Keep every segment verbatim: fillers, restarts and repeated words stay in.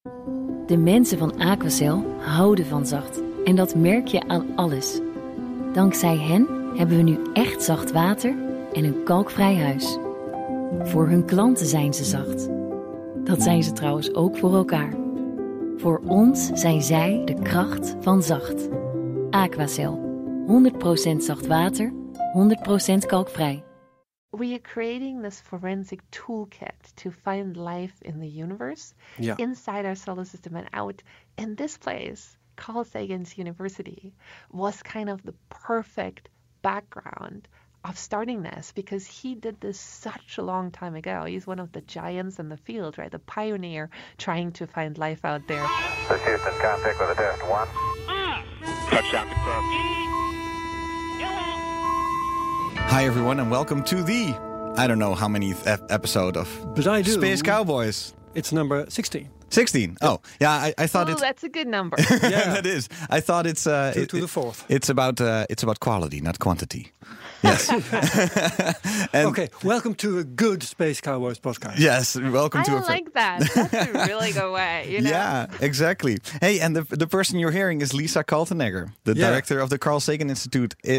De mensen van Aquacel houden van zacht. En dat merk je aan alles. Dankzij hen hebben we nu echt zacht water en een kalkvrij huis. Voor hun klanten zijn ze zacht. Dat zijn ze trouwens ook voor elkaar. Voor ons zijn zij de kracht van zacht. Aquacel. honderd procent zacht water, honderd procent kalkvrij. We are creating this forensic toolkit to find life in the universe, Yeah. inside our solar system and out. And this place, Carl Sagan's University, was kind of the perfect background of starting this because he did this such a long time ago. He's one of the giants in the field, right? The pioneer trying to find life out there. This Houston, contact with a test one. Touchdown confirmed. Hi everyone and welcome to the, I don't know how many th- episode of But I do. Space Cowboys. It's number sixteen. sixteen. Oh, yeah, I, I thought Oh, it's... that's a good number. Yeah. That is. I thought it's... Uh, To- it- to the fourth. It's about, uh, it's about quality, not quantity. Yes. And Okay, welcome to a good Space Cowboys podcast. Yes, welcome I to... a like that. That's a really good way, you know? Yeah, exactly. Hey, and the the person you're hearing is Lisa Kaltenegger, the Yeah. director of the Carl Sagan Institute i-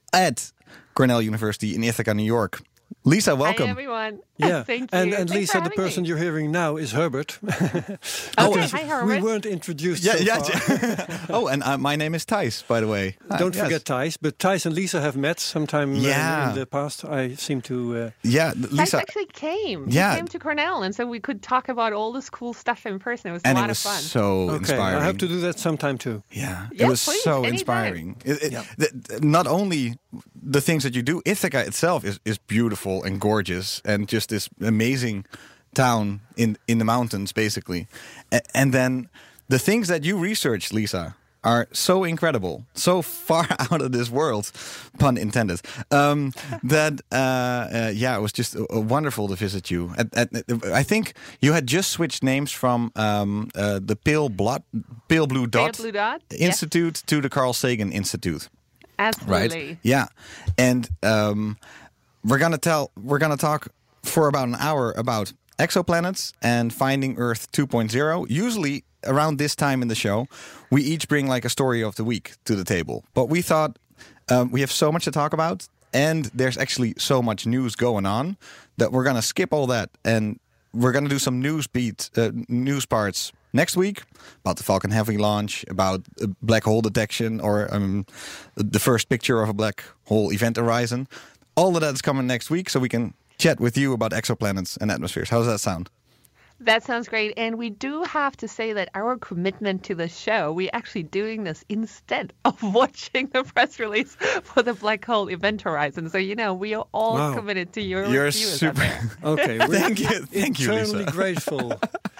at Cornell University in Ithaca, New York. Lisa, welcome. Hi, everyone. Yeah, Thank you. and and Thanks Lisa, for the having person me. you're hearing now is Herbert. Okay, Because hi, Herbert. We weren't introduced Yeah, so yeah. far. Oh, and uh, my name is Thijs, by the way. Hi, Don't yes. forget Thijs, but Thijs and Lisa have met sometime uh, Yeah. in the past. I seem to... Uh, Yeah, Thijs Lisa. actually came. Yeah. He came to Cornell, and so we could talk about all this cool stuff in person. It was And a it lot was of fun. so okay, inspiring. I have to do that sometime too. Yeah, it Yeah, was please, so anytime. inspiring. It, it, Yeah. th- th- not only the things that you do, Ithaca itself is, is beautiful and gorgeous, and just this amazing town in in the mountains, basically. A- and then the things that you research, Lisa, are so incredible, so far out of this world, pun intended. Um, that uh, uh, yeah, it was just uh, wonderful to visit you. At, at, I think you had just switched names from um, uh, the Pale Blood, Pale Blue Dot, Pale Blue Dot, yes. Institute to the Carl Sagan Institute. Absolutely. Right? Yeah, and um, we're gonna tell, we're gonna talk for about an hour about exoplanets and finding Earth two point oh. Usually around this time in the show, we each bring like a story of the week to the table. But we thought um, we have so much to talk about, and there's actually so much news going on that we're gonna skip all that, and we're gonna do some news beat, uh, news parts next week about the Falcon Heavy launch, about uh, black hole detection, or um, the first picture of a black hole event horizon. All of that is coming next week, so we can chat with you about exoplanets and atmospheres. How does that sound? That sounds great. And we do have to say that our commitment to the show, we're actually doing this instead of watching the press release for the Black Hole Event Horizon. So, you know, we are all Wow. committed to your You're viewers out super. there. Okay, we're Thank you, thank you, eternally Lisa. grateful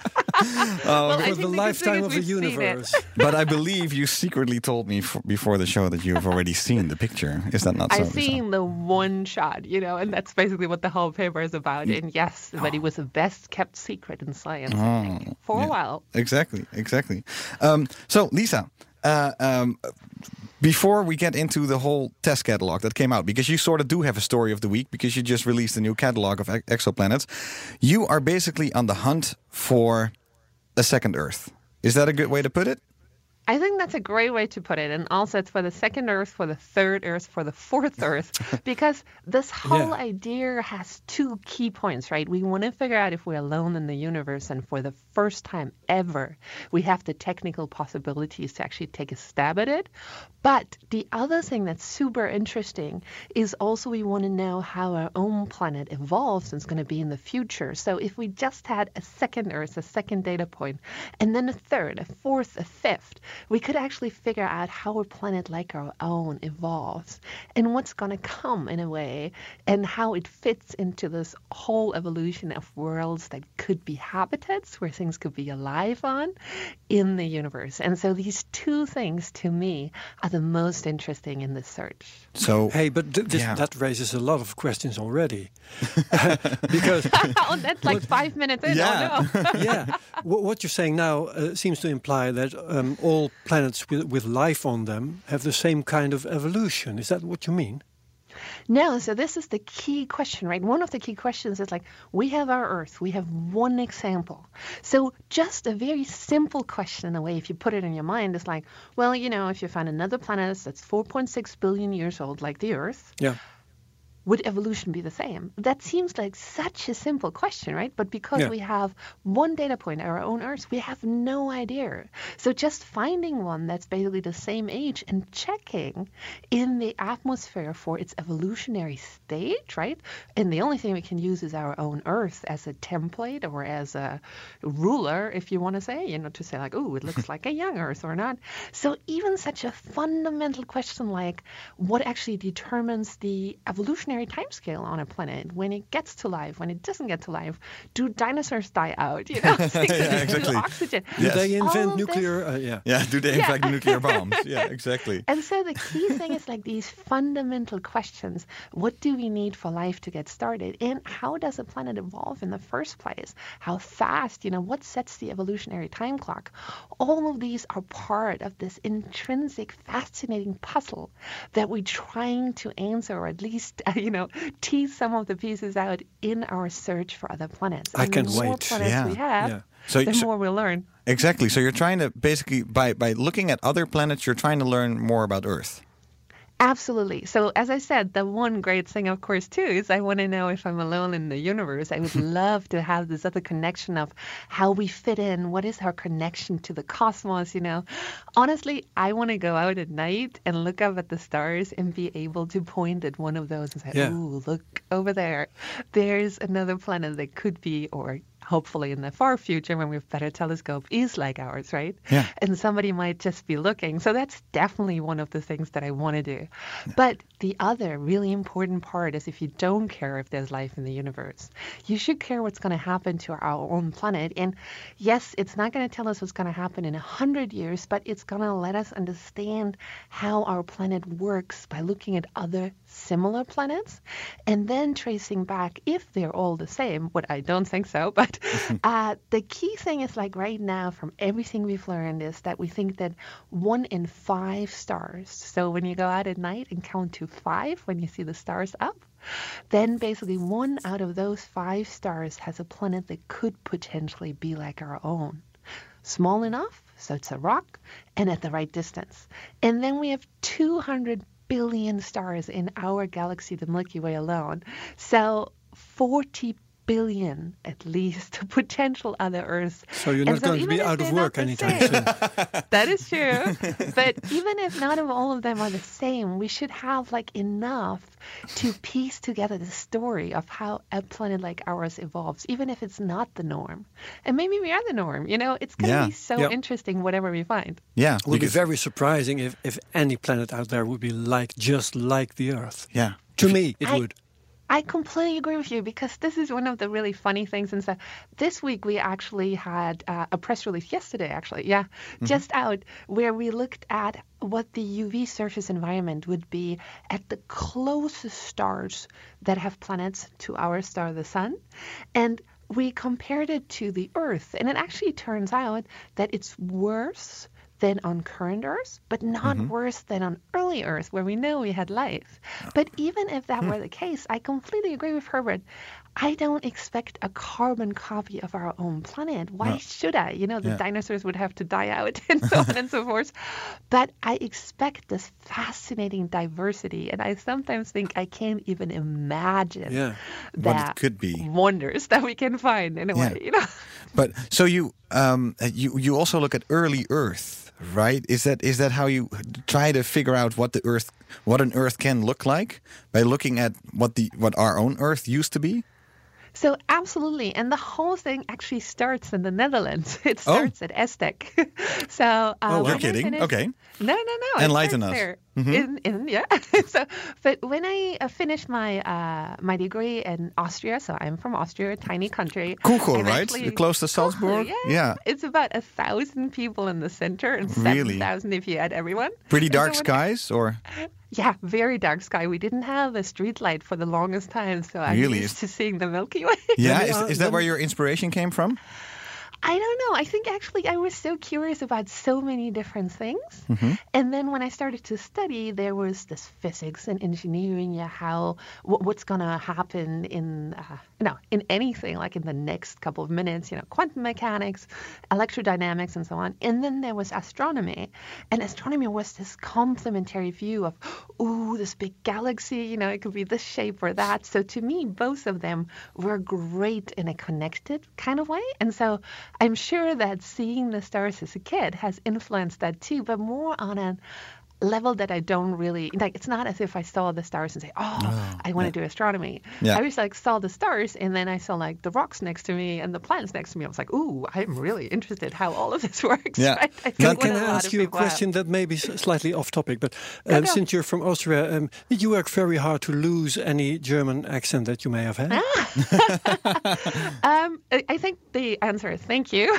Well, I for think the the good lifetime thing of is a we've seen it. universe. But I believe you secretly told me f- before the show that you have already seen the picture. Is that not so? I've Lisa? seen the one shot, you know, and that's basically what the whole paper is about. And yes, but it was the best kept secret in science, I think, for yeah. a while. Exactly, exactly. Um, so, Lisa, uh, um, before we get into the whole test catalog that came out, because you sort of do have a story of the week, because you just released a new catalog of ex- exoplanets, you are basically on the hunt for a second Earth. Is that a good way to put it? I think that's a great way to put it. And also it's for the second Earth, for the third Earth, for the fourth Earth, because this whole Yeah. idea has two key points, right? We want to figure out if we're alone in the universe. And for the first time ever, we have the technical possibilities to actually take a stab at it. But the other thing that's super interesting is also we want to know how our own planet evolves and it's going to be in the future. So if we just had a second Earth, a second data point, and then a third, a fourth, a fifth, we could actually figure out how a planet like our own evolves and what's going to come in a way and how it fits into this whole evolution of worlds that could be habitats where things could be alive on in the universe. And so these two things to me are the most interesting in this search. So, Hey, but th- this, Yeah. that raises a lot of questions already. Because, Oh, that's like five minutes in. Yeah. Oh, no. yeah, wh- what you're saying now uh, seems to imply that um, all planets with, with life on them have the same kind of evolution. Is that what you mean? No, so this is the key question, right? One of the key questions is like, we have our Earth, we have one example. So just a very simple question in a way, if you put it in your mind, is like, well, you know, if you find another planet that's four point six billion years old like the Earth, Yeah. would evolution be the same? That seems like such a simple question, right? But because Yeah. we have one data point, our own Earth, we have no idea. So just finding one that's basically the same age and checking in the atmosphere for its evolutionary stage, right? And the only thing we can use is our own Earth as a template or as a ruler, if you want to say, you know, to say like, oh, it looks like a young Earth or not. So even such a fundamental question like what actually determines the evolutionary timescale on a planet, when it gets to life, when it doesn't get to life, do dinosaurs die out? You know, Yeah, exactly. oxygen. Do Yes. they All invent of this- nuclear? Uh, yeah. Yeah, do they infect nuclear bombs? Yeah, exactly. And so the key thing is like these fundamental questions. What do we need for life to get started? And how does a planet evolve in the first place? How fast, you know, what sets the evolutionary time clock? All of these are part of this intrinsic, fascinating puzzle that we're trying to answer, or at least, uh, you know, tease some of the pieces out in our search for other planets. I And can't the more wait. planets Yeah. we have, Yeah. So, the so- more we'll learn. exactly. So you're trying to basically by by looking at other planets, you're trying to learn more about Earth. Absolutely. So as I said, the one great thing, of course, too, is I want to know if I'm alone in the universe. I would love to have this other connection of how we fit in. What is our connection to the cosmos, you know? Honestly, I want to go out at night and look up at the stars and be able to point at one of those and say, Yeah. ooh, look over there. There's another planet that could be, or hopefully in the far future when we have better telescope, is like ours, right? Yeah. And somebody might just be looking. So that's definitely one of the things that I want to do. But the other really important part is if you don't care if there's life in the universe, you should care what's going to happen to our own planet. And yes, it's not going to tell us what's going to happen in a hundred years, but it's going to let us understand how our planet works by looking at other similar planets and then tracing back if they're all the same, what I don't think so, but uh, the key thing is like right now from everything we've learned is that we think that one in five stars, so when you go out at night and count to five when you see the stars up, then basically one out of those five stars has a planet that could potentially be like our own. Small enough, so it's a rock, and at the right distance. And then we have two hundred billion stars in our galaxy, the Milky Way alone. So forty billion at least potential other Earths. So you're And not going to even be if out of they're not work the anytime same- soon. That is true. But even if none of all of them are the same, we should have like enough to piece together the story of how a planet like ours evolves, even if it's not the norm. And maybe we are the norm. You know, it's going to Yeah. be so Yeah. interesting, whatever we find. Yeah. It would be because- very surprising if, if any planet out there would be like just like the Earth. Yeah. To me, it I- would. I completely agree with you because this is one of the really funny things. And so this week we actually had uh, a press release yesterday, actually, yeah, just out where we looked at what the U V surface environment would be at the closest stars that have planets to our star, the sun. And we compared it to the Earth. And it actually turns out that it's worse than on current Earth, but not worse than on early Earth, where we know we had life. But even if that were the case, I completely agree with Herbert. I don't expect a carbon copy of our own planet. Why No. should I? You know, the Yeah. dinosaurs would have to die out and so on and so forth. But I expect this fascinating diversity. And I sometimes think I can't even imagine Yeah. What it that could be. wonders that we can find in a Yeah. way, you know. But so you um uh, you you also look at early Earth, right? Is that is that how you try to figure out what the Earth what an Earth can look like by looking at what the what our own Earth used to be? So absolutely, and the whole thing actually starts in the Netherlands. It Oh. starts at Estec. so uh, Oh, when you're I kidding? finished- Okay. No, no, no. it Enlighten starts us. Mm-hmm. there. In, in, yeah. so, but when I uh, finished my uh, my degree in Austria, so I'm from Austria, a tiny country. Kuchel, I'm right? actually- Close to Salzburg? Kuchel, yeah. Yeah. It's about a thousand people in the center and Really? seven thousand if you add everyone. Pretty And so dark when- skies, or Yeah, very dark sky. We didn't have a street light for the longest time, so I'm Really? used to seeing the Milky Way. yeah, me, is, uh, is that let where me- your inspiration came from? I don't know. I think actually I was so curious about so many different things. Mm-hmm. And then when I started to study, there was this physics and engineering, yeah, how wh- what's going to happen in, uh, you know, in anything, like in the next couple of minutes, you know, quantum mechanics, electrodynamics, and so on. And then there was astronomy. And astronomy was this complementary view of, ooh, this big galaxy, you know, it could be this shape or that. So to me, both of them were great in a connected kind of way. And so I'm sure that seeing the stars as a kid has influenced that too, but more on a level that I don't really like. It's not as if I saw the stars and say, oh, oh I want to yeah. do astronomy. Yeah. I was like saw the stars and then I saw like the rocks next to me and the planets next to me. I was like, ooh, I'm really interested how all of this works. Yeah. Right? I now, can I ask you a question have. that may be slightly off topic, but um, no, since you're from Austria, um, did you work very hard to lose any German accent that you may have had? um, I think the answer is thank you.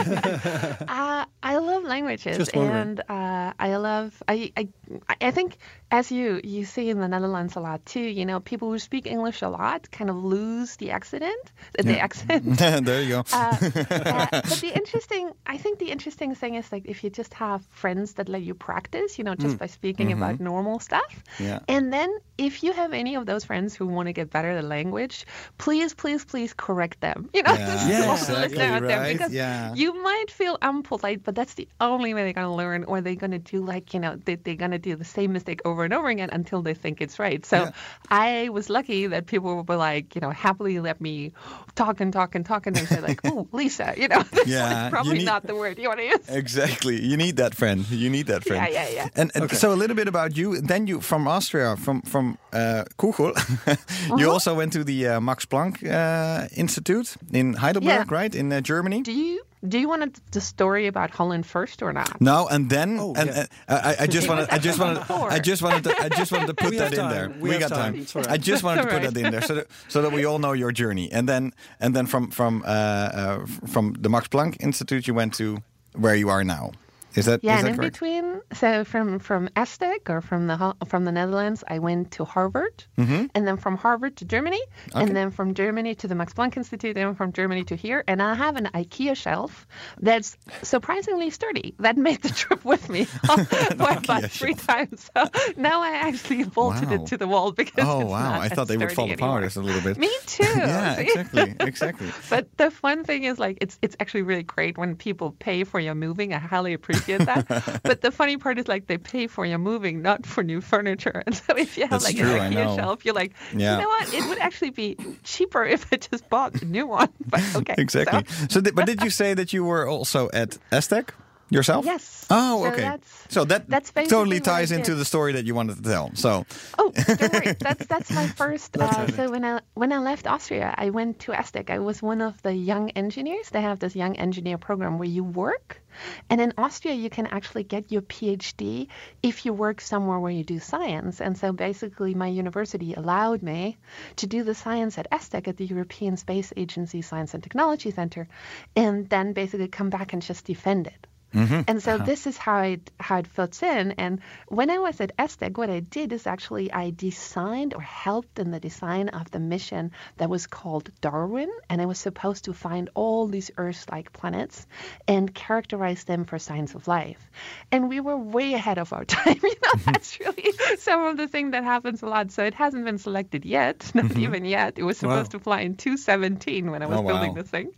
uh, I love languages and uh, I love, I, I, I think as you, you see in the Netherlands a lot too, you know, people who speak English a lot kind of lose the accent, the yeah. accent. There you go. uh, uh, but the interesting, I think the interesting thing is like if you just have friends that let you practice, you know, just mm. by speaking mm-hmm. about normal stuff. Yeah. And then if you have any of those friends who want to get better at language, please, please, please correct them. You know, yeah. just yeah, exactly right. them because yeah. you might feel unpolite, but that's the only way they're going to learn, or they're going to do like, you know, they, they're going to do the same mistake over and over again until they think it's right. So yeah. I was lucky that people were like, you know, happily let me talk and talk and talk and then say like, oh, Lisa, you know, that's yeah, like probably need, not the word you want to use. Exactly. You need that friend. You need that friend. Yeah, yeah, yeah. And, and okay. so a little bit about you. Then you, from Austria, from, from uh, Kugel, uh-huh. you also went to the uh, Max Planck uh, Institute in Heidelberg, yeah. right, in uh, Germany? Do you? Do you want the story about Holland first or not? No, and then oh, and yeah. uh, I, I just wanted, I just wanted, I just wanted to, I just wanted to put we that in time. there. We, we got time. time. Right. I just wanted to put right. that in there so that so that we all know your journey. And then and then from from uh, uh, from the Max Planck Institute, you went to where you are now. Is that yeah? Is that and in correct? between, so from from ESTEC or from the from the Netherlands, I went to Harvard, mm-hmm. and then from Harvard to Germany, okay. and then from Germany to the Max Planck Institute, and from Germany to here. And I have an IKEA shelf that's surprisingly sturdy. That made the trip with me for about three shelf. times. So now I actually bolted wow. it to the wall because oh it's wow, not I thought they would fall anymore. apart a little bit. Me too. yeah, see? exactly, exactly. But the fun thing is, like, it's it's actually really great when people pay for your moving. I highly appreciate that. But the funny part is, like, they pay for your moving, not for new furniture. And so if you have, That's like, true, an IKEA shelf, you're like, yeah. you know what? It would actually be cheaper if I just bought a new one. But okay. Exactly. So, so th- but did you say that you were also at ESTEC yourself? Yes. Oh, so okay. That's, so that that's totally ties into the story that you wanted to tell. So. Oh, don't worry. That's that's my first. That's uh, so when I when I left Austria, I went to ESTEC. I was one of the young engineers. They have this young engineer program where you work, and in Austria you can actually get your PhD if you work somewhere where you do science. And so basically, my university allowed me to do the science at ESTEC at the European Space Agency Science and Technology Center, and then basically come back and just defend it. Mm-hmm. And so uh-huh. this is how it how it fits in. And when I was at ESTEC, what I did is actually I designed or helped in the design of the mission that was called Darwin. And I was supposed to find all these Earth-like planets and characterize them for signs of life. And we were way ahead of our time. You know, that's really some of the thing that happens a lot. So it hasn't been selected yet, not mm-hmm. even yet. It was supposed wow. to fly in two seventeen when I was oh, building wow. this thing.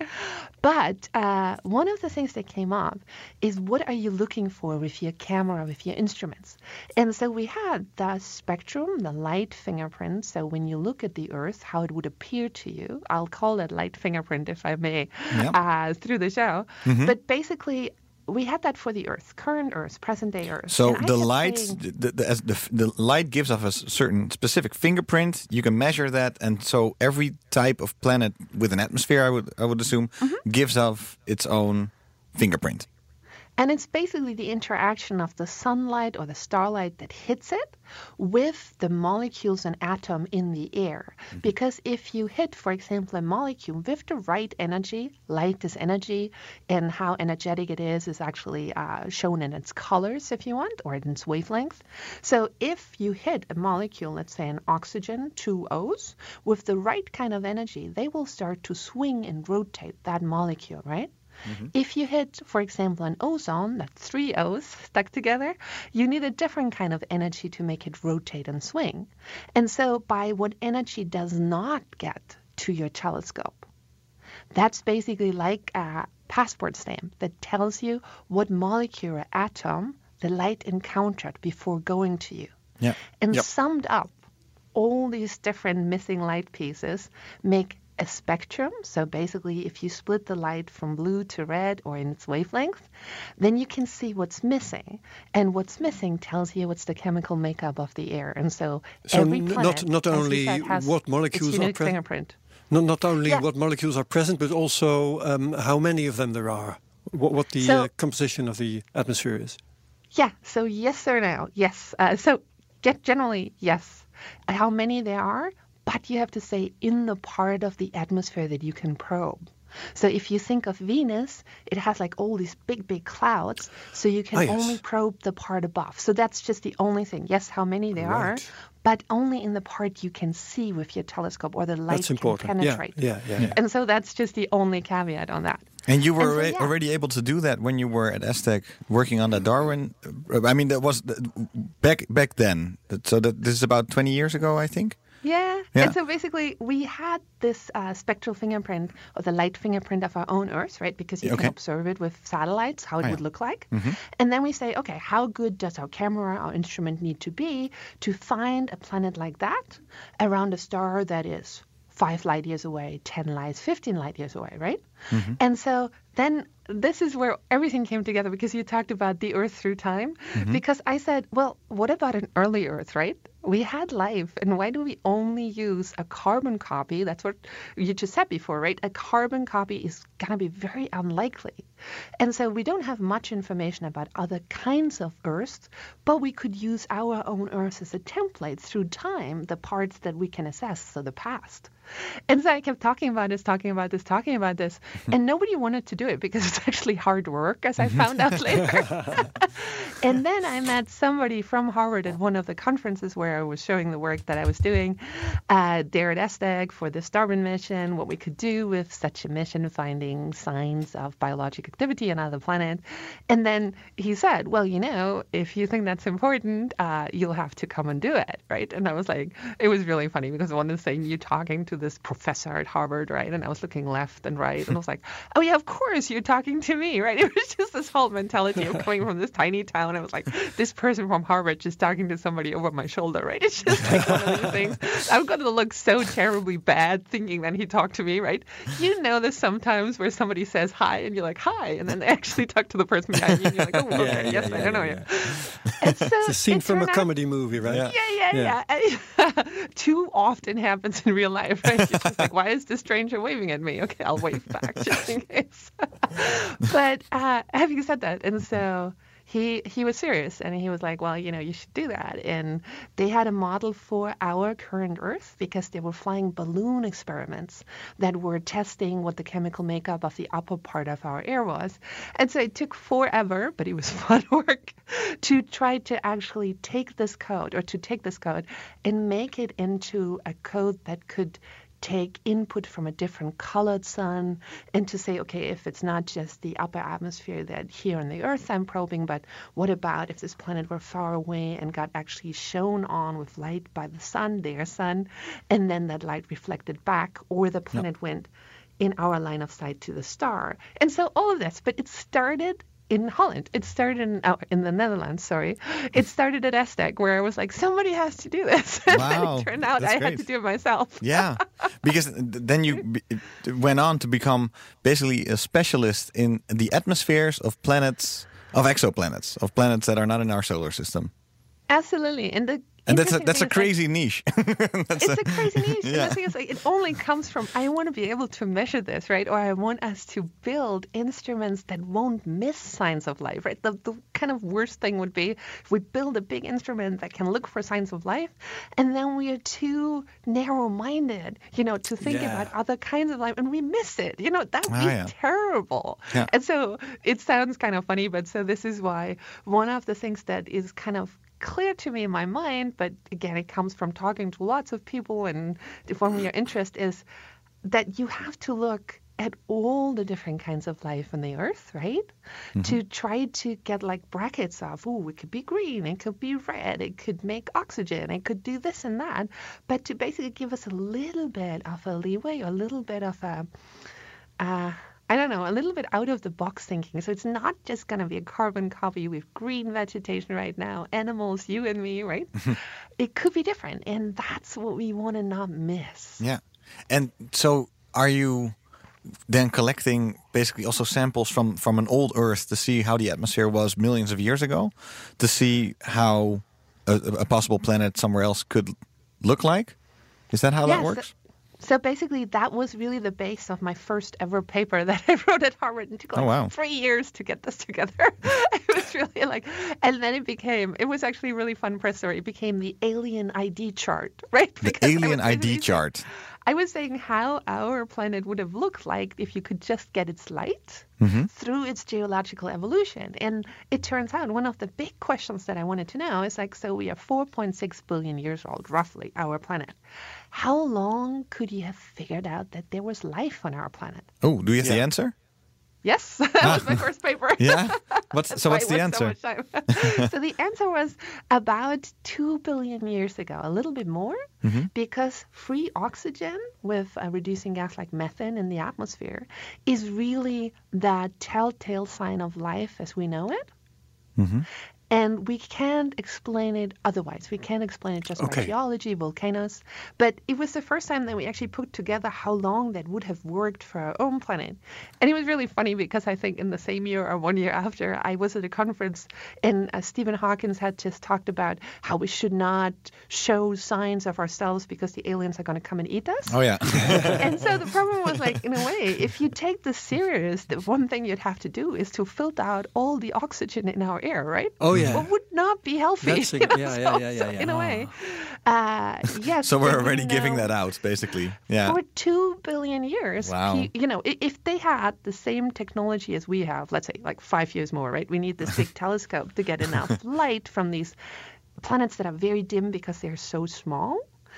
But uh, one of the things that came up is what are you looking for with your camera, with your instruments? And so we had the spectrum, the light fingerprint. So when you look at the Earth, how it would appear to you. I'll call it light fingerprint, if I may, yep. uh, through the show. Mm-hmm. But basically, we had that for the Earth, current Earth, present day Earth. So the light, saying, the, the, as the, the light gives off a certain specific fingerprint. You can measure that, and so every type of planet with an atmosphere, I would I would assume, mm-hmm. gives off its own fingerprint. And it's basically the interaction of the sunlight or the starlight that hits it with the molecules and atom in the air. Mm-hmm. Because if you hit, for example, a molecule with the right energy, light is energy, and how energetic it is is actually uh, shown in its colors, if you want, or in its wavelength. So if you hit a molecule, let's say an oxygen, two O's, with the right kind of energy, they will start to swing and rotate that molecule, right? Mm-hmm. If you hit, for example, an ozone, that's three O's stuck together, you need a different kind of energy to make it rotate and swing. And so by what energy does not get to your telescope, that's basically like a passport stamp that tells you what molecule or atom the light encountered before going to you. Yeah. And yep. summed up, all these different missing light pieces make a spectrum. So basically, if you split the light from blue to red or in its wavelength, then you can see what's missing. And what's missing tells you what's the chemical makeup of the air. And so, so every n- planet, not, not only said, has what molecules its are unique present. fingerprint. Not, not only yeah. what molecules are present, but also um, how many of them there are. What, what the so, uh, composition of the atmosphere is. Yeah. So yes or no? Yes. Uh, so get generally yes. How many there are, but you have to say in the part of the atmosphere that you can probe. So if you think of Venus, it has like all these big, big clouds, so you can ah, yes. only probe the part above. So that's just the only thing. Yes, how many there right. are, but only in the part you can see with your telescope or the light that's can important. penetrate. Yeah, yeah, yeah. And so that's just the only caveat on that. And you were and so, already, yeah. already able to do that when you were at ESTEC working on that Darwin. I mean, that was back back then. So that this is about twenty years ago, I think. Yeah. yeah. And so basically we had this uh, spectral fingerprint or the light fingerprint of our own Earth, right? Because you okay. can observe it with satellites, how it oh, would yeah. look like. Mm-hmm. And then we say, okay, how good does our camera, our instrument need to be to find a planet like that around a star that is five light years away, ten light, fifteen light years away, right? Mm-hmm. And so then this is where everything came together because you talked about the Earth through time. Mm-hmm. Because I said, well, what about an early Earth, right? We had life, and why do we only use a carbon copy? That's what you just said before, right? A carbon copy is going to be very unlikely. And so we don't have much information about other kinds of Earths, but we could use our own Earth as a template through time, the parts that we can assess, so the past. And so I kept talking about this, talking about this, talking about this, and nobody wanted to do it because it's actually hard work, as I found out later. And then I met somebody from Harvard at one of the conferences where I was showing the work that I was doing uh, there at ESTEC for this Darwin mission, what we could do with such a mission, finding signs of biologic activity on other planets. And then he said, well, you know, if you think that's important, uh, you'll have to come and do it, right? And I was like, it was really funny because one is saying you talking to this professor at Harvard, right? And I was looking left and right, and I was like, oh yeah, of course you're talking to me, right? It was just this whole mentality of coming from this tiny town. I was like, this person from Harvard just talking to somebody over my shoulder, right? It's just like one of these things. I'm going to look so terribly bad thinking that he talked to me, right? You know this sometimes where somebody says hi and you're like, hi, and then they actually talk to the person behind you and you're like, oh, okay, yeah, yes, yeah, I don't know yeah. you. And so it's a scene from a out, comedy movie, right? Yeah, yeah, yeah. yeah. yeah. Too often happens in real life, right? You're just like, why is this stranger waving at me? Okay, I'll wave back just in case. But uh, having said that, and so he he was serious, and he was like, well, you know, you should do that. And they had a model for our current Earth because they were flying balloon experiments that were testing what the chemical makeup of the upper part of our air was. And so it took forever, but it was fun work to try to actually take this code or to take this code and make it into a code that could take input from a different colored sun and to say, okay, if it's not just the upper atmosphere that here on the Earth I'm probing, but what about if this planet were far away and got actually shone on with light by the sun, their sun, and then that light reflected back, or the planet yep. went in our line of sight to the star. And so all of this, but it started in Holland. It started in oh, in the Netherlands, sorry. It started at ESTEC, where I was like, somebody has to do this. And wow, it turned out that's I great. had to do it myself. Yeah, because then you b- went on to become basically a specialist in the atmospheres of planets, of exoplanets, of planets that are not in our solar system. Absolutely. And the And that's a, that's a crazy like, niche. It's a, a crazy niche. Yeah. And the thing is, like, it only comes from, I want to be able to measure this, right? Or I want us to build instruments that won't miss signs of life, right? The, the kind of worst thing would be if we build a big instrument that can look for signs of life, and then we are too narrow-minded, you know, to think yeah. about other kinds of life, and we miss it. You know, that would oh, be yeah. terrible. Yeah. And so it sounds kind of funny, but so this is why one of the things that is kind of clear to me in my mind, but again, it comes from talking to lots of people and from your interest, is that you have to look at all the different kinds of life on the Earth, right? Mm-hmm. To try to get like brackets of, oh, it could be green, it could be red, it could make oxygen, it could do this and that, but to basically give us a little bit of a leeway, a little bit of a, uh, I don't know, a little bit out of the box thinking. So it's not just going to be a carbon copy with green vegetation right now, animals, you and me, right? It could be different. And that's what we want to not miss. Yeah. And so are you then collecting basically also samples from, from an old Earth to see how the atmosphere was millions of years ago, to see how a, a possible planet somewhere else could look like? Is that how yes, that works? So basically, that was really the base of my first ever paper that I wrote at Harvard. And it took like oh, wow. three years to get this together. It was really like, and then it became, it was actually a really fun press story. It became the alien I D chart, right? The because alien I D chart. I was saying how our planet would have looked like if you could just get its light mm-hmm. through its geological evolution. And it turns out one of the big questions that I wanted to know is like, so we are four point six billion years old, roughly, our planet. How long could you have figured out that there was life on our planet? Oh, do you have yeah. the answer? Yes, that was my first paper. Yeah? What's, so what's the answer? So, so the answer was about two billion years ago, a little bit more, mm-hmm. because free oxygen with a reducing gas like methane in the atmosphere is really the telltale sign of life as we know it. Mm-hmm. And we can't explain it otherwise. We can't explain it just okay. by geology, volcanoes. But it was the first time that we actually put together how long that would have worked for our own planet. And it was really funny because I think in the same year or one year after, I was at a conference and uh, Stephen Hawking had just talked about how we should not show signs of ourselves because the aliens are going to come and eat us. Oh, yeah. And so the problem was like, in a way, if you take this serious, the one thing you'd have to do is to filter out all the oxygen in our air, right? Oh, yeah. What would not be healthy. That's a, you know? yeah, so, yeah, yeah, yeah, so yeah. in a oh. way, uh, yes. So we're already know, giving that out, basically. Yeah. For two billion years. Wow. He, you know, if they had the same technology as we have, let's say like five years more, right? We need this big telescope to get enough light from these planets that are very dim because they're so small.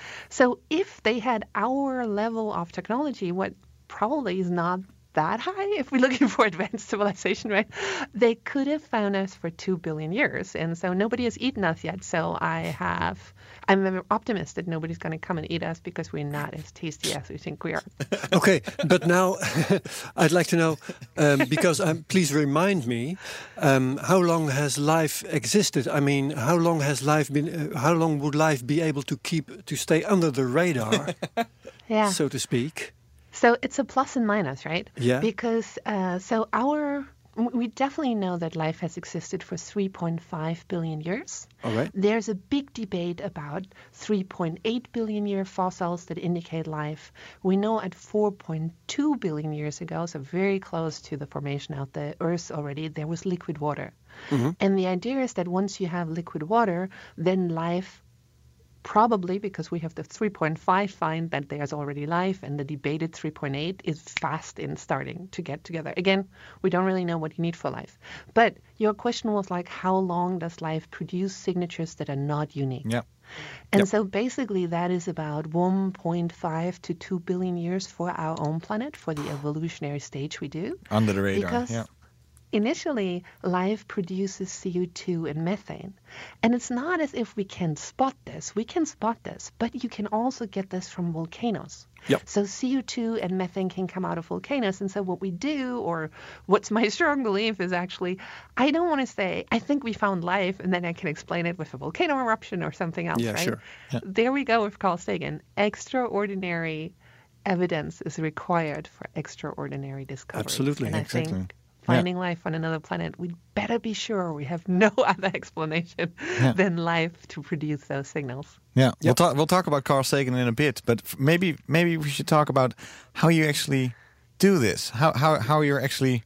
So if they had our level of technology, what probably is not that high if we're looking for advanced civilization, right? They could have found us for two billion years. And so nobody has eaten us yet. So I have, I'm an optimist that nobody's going to come and eat us because we're not as tasty as we think we are. Okay, but now I'd like to know, um, because um, please remind me, um, how long has life existed? I mean, how long has life been, uh, how long would life be able to keep, to stay under the radar, yeah. so to speak? So it's a plus and minus, right? Yeah. Because uh, so our we definitely know that life has existed for three point five billion years. All right. There's a big debate about three point eight billion year fossils that indicate life. We know at four point two billion years ago, so very close to the formation of the Earth already, there was liquid water. Mm-hmm. And the idea is that once you have liquid water, then life probably, because we have the three point five find that there's already life, and the debated three point eight is fast in starting to get together. Again, we don't really know what you need for life. But your question was like, how long does life produce signatures that are not unique? Yeah. And yep. so basically that is about one point five to two billion years for our own planet, for the evolutionary stage we do. Under the radar, because yeah. Initially, life produces C O two and methane. And it's not as if we can spot this. We can spot this, but you can also get this from volcanoes. Yep. So C O two and methane can come out of volcanoes. And so what we do, or what's my strong belief is actually, I don't want to say, I think we found life, and then I can explain it with a volcano eruption or something else, yeah, right? Sure. Yeah. There we go with Carl Sagan. Extraordinary evidence is required for extraordinary discoveries. Absolutely. And I exactly. think finding yeah. life on another planet, we'd better be sure we have no other explanation yeah. than life to produce those signals. Yeah, yep. we'll talk. We'll talk about Carl Sagan in a bit, but maybe maybe we should talk about how you actually do this. How how how you're actually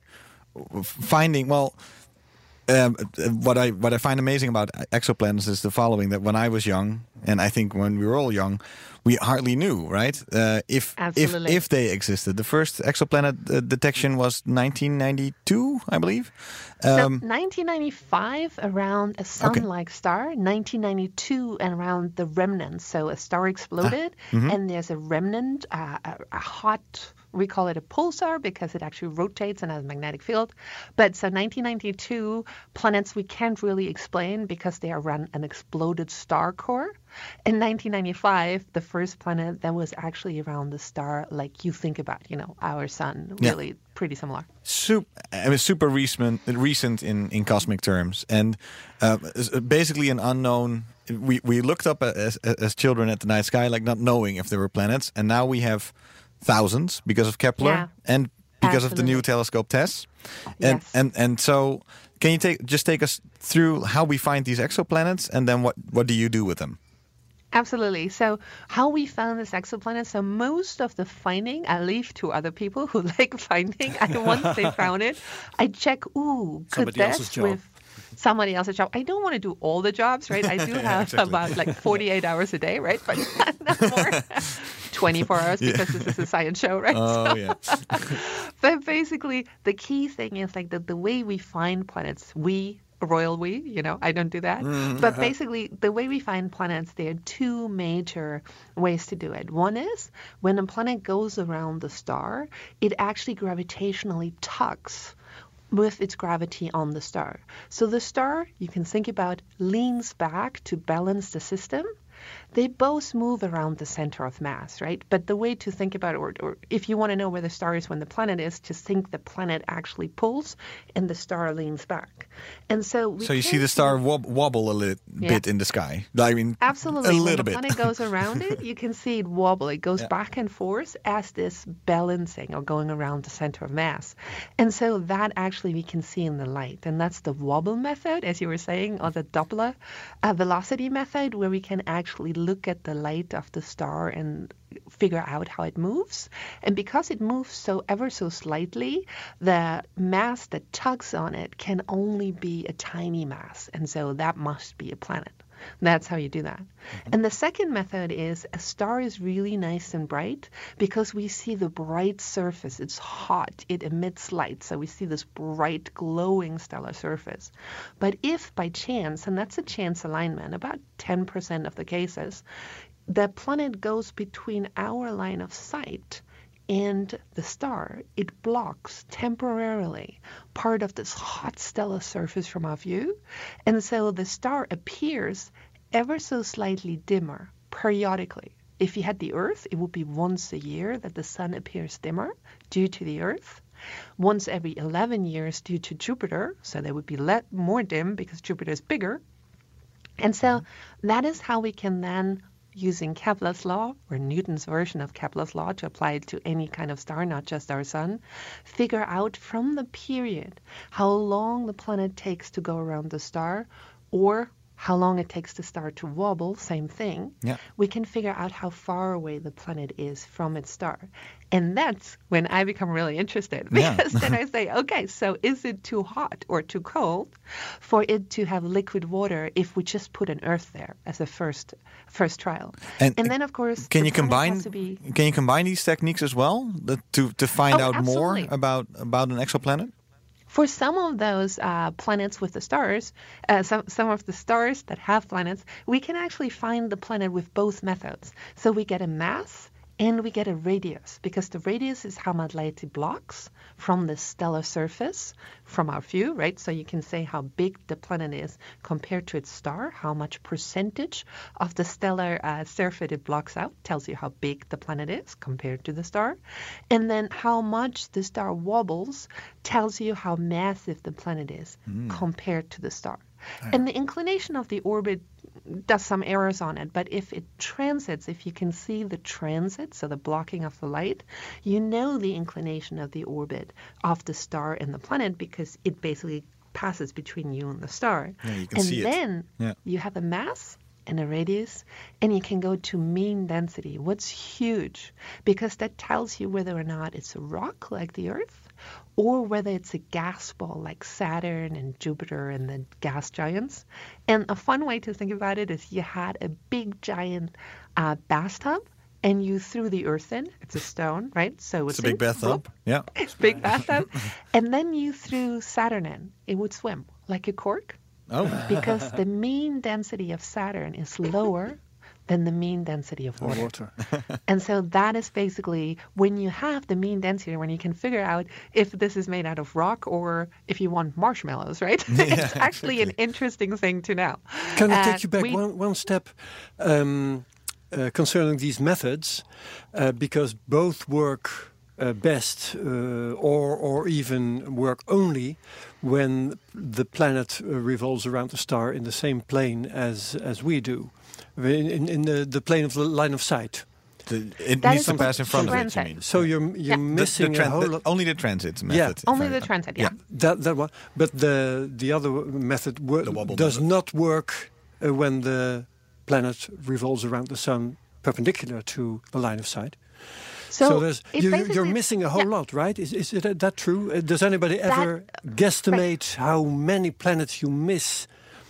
finding. Well, um, what I what I find amazing about exoplanets is the following: that when I was young, and I think when we were all young, we hardly knew, right? Uh, if Absolutely. if if they existed. The first exoplanet uh, detection was nineteen ninety-two, I believe. Um, so nineteen ninety-five, around a sun-like okay. star. nineteen ninety-two, and around the remnants. So a star exploded, ah, mm-hmm. and there's a remnant, uh, a, a hot We call it a pulsar because it actually rotates and has a magnetic field. But so nineteen ninety-two, planets we can't really explain because they are around an exploded star core. In nineteen ninety-five, the first planet that was actually around the star like you think about, you know, our sun, really yeah. pretty similar. Super, it was super recent, recent in, in cosmic terms. And uh, basically an unknown... We, we looked up as, as children at the night sky, like not knowing if there were planets. And now we have thousands because of Kepler yeah, and because absolutely. of the new telescope tests. Yes. And, and, and so can you take just take us through how we find these exoplanets and then what, what do you do with them? Absolutely. So how we found this exoplanet, so most of the finding I leave to other people who like finding. And once they found it, I check, ooh, could Somebody else's this job. with somebody else's job. I don't want to do all the jobs, right? I do have yeah, exactly. about like forty-eight hours a day, right? But not more. twenty-four hours because yeah. this is a science show, right? Oh, so, yeah. But basically, the key thing is like the, the way we find planets, we, royal we, you know, I don't do that. Mm, but uh-huh. basically, the way we find planets, there are two major ways to do it. One is when a planet goes around the star, it actually gravitationally tugs with its gravity on the star. So the star, you can think about, leans back to balance the system. They both move around the center of mass, right? But the way to think about it, or, or if you want to know where the star is when the planet is, just think the planet actually pulls and the star leans back. And so we So you see the star wob- wobble a little yeah. bit in the sky. I mean, absolutely. a when little the bit. planet goes around it, you can see it wobble. It goes yeah. back and forth as this balancing or going around the center of mass. And so that actually we can see in the light. And that's the wobble method, as you were saying, or the Doppler uh, velocity method, where we can actually look at the light of the star and figure out how it moves. And because it moves so ever so slightly, the mass that tugs on it can only be a tiny mass. And so that must be a planet. That's how you do that. Mm-hmm. And the second method is a star is really nice and bright because we see the bright surface. It's hot. It emits light. So we see this bright, glowing stellar surface. But if by chance, and that's a chance alignment, about ten percent of the cases, the planet goes between our line of sight and the star, it blocks temporarily part of this hot stellar surface from our view. And so the star appears ever so slightly dimmer periodically. If you had the Earth, it would be once a year that the sun appears dimmer due to the Earth. Once every eleven years due to Jupiter, so they would be let more dim because Jupiter is bigger. And so that is how we can then, using Kepler's law, or Newton's version of Kepler's law, to apply it to any kind of star, not just our sun, figure out from the period how long the planet takes to go around the star, or how long it takes the star to wobble, same thing. Yeah. We can figure out how far away the planet is from its star. And that's when I become really interested, because yeah. then I say, okay, so is it too hot or too cold for it to have liquid water if we just put an Earth there as a first first trial? And, and then, of course, can the you combine be... can you combine these techniques as well the, to to find oh, out absolutely. more about about an exoplanet? For some of those uh, planets with the stars, uh, some, some of the stars that have planets, we can actually find the planet with both methods. So we get a mass and we get a radius, because the radius is how much light it blocks from the stellar surface from our view, right? So you can say how big the planet is compared to its star, how much percentage of the stellar uh, surface it blocks out, tells you how big the planet is compared to the star. And then how much the star wobbles tells you how massive the planet is mm. compared to the star. And the inclination of the orbit does some errors on it, but if it transits, if you can see the transit, so the blocking of the light, you know the inclination of the orbit of the star and the planet, because it basically passes between you and the star. Yeah, you can and see then it. Yeah. you have a mass and a radius, and you can go to mean density. What's huge? Because that tells you whether or not it's a rock like the Earth, or whether it's a gas ball like Saturn and Jupiter and the gas giants. And a fun way to think about it is you had a big giant uh, bathtub, and you threw the Earth in. It's a stone, right? So it's a big bathtub. Yeah, it's a big bathtub. And then you threw Saturn in. It would swim like a cork. Oh, because the mean density of Saturn is lower than the mean density of water. Water. And so that is basically when you have the mean density, when you can figure out if this is made out of rock or if you want marshmallows, right? It's actually an interesting thing to know. Can I Uh, take you back we- one, one step um, uh, concerning these methods? Uh, because both work uh, best uh, or, or even work only when the planet uh, revolves around the star in the same plane as, as we do, in, in, in the, the plane of the line of sight. The, it That needs is to the pass in front of it, you transit. mean? So you're, you're Yeah. The- missing the tran- a whole the- lot. only the transit method. Yeah. if Only I- the transit, yeah. That that one, but the the other method wo- The wobble does method. not work uh, when the planet revolves around the sun perpendicular to the line of sight. So, So, there's it you, you- basically- you're missing a whole yeah. lot, right? Is is it that true? Uh, Does anybody ever guesstimate how many planets you miss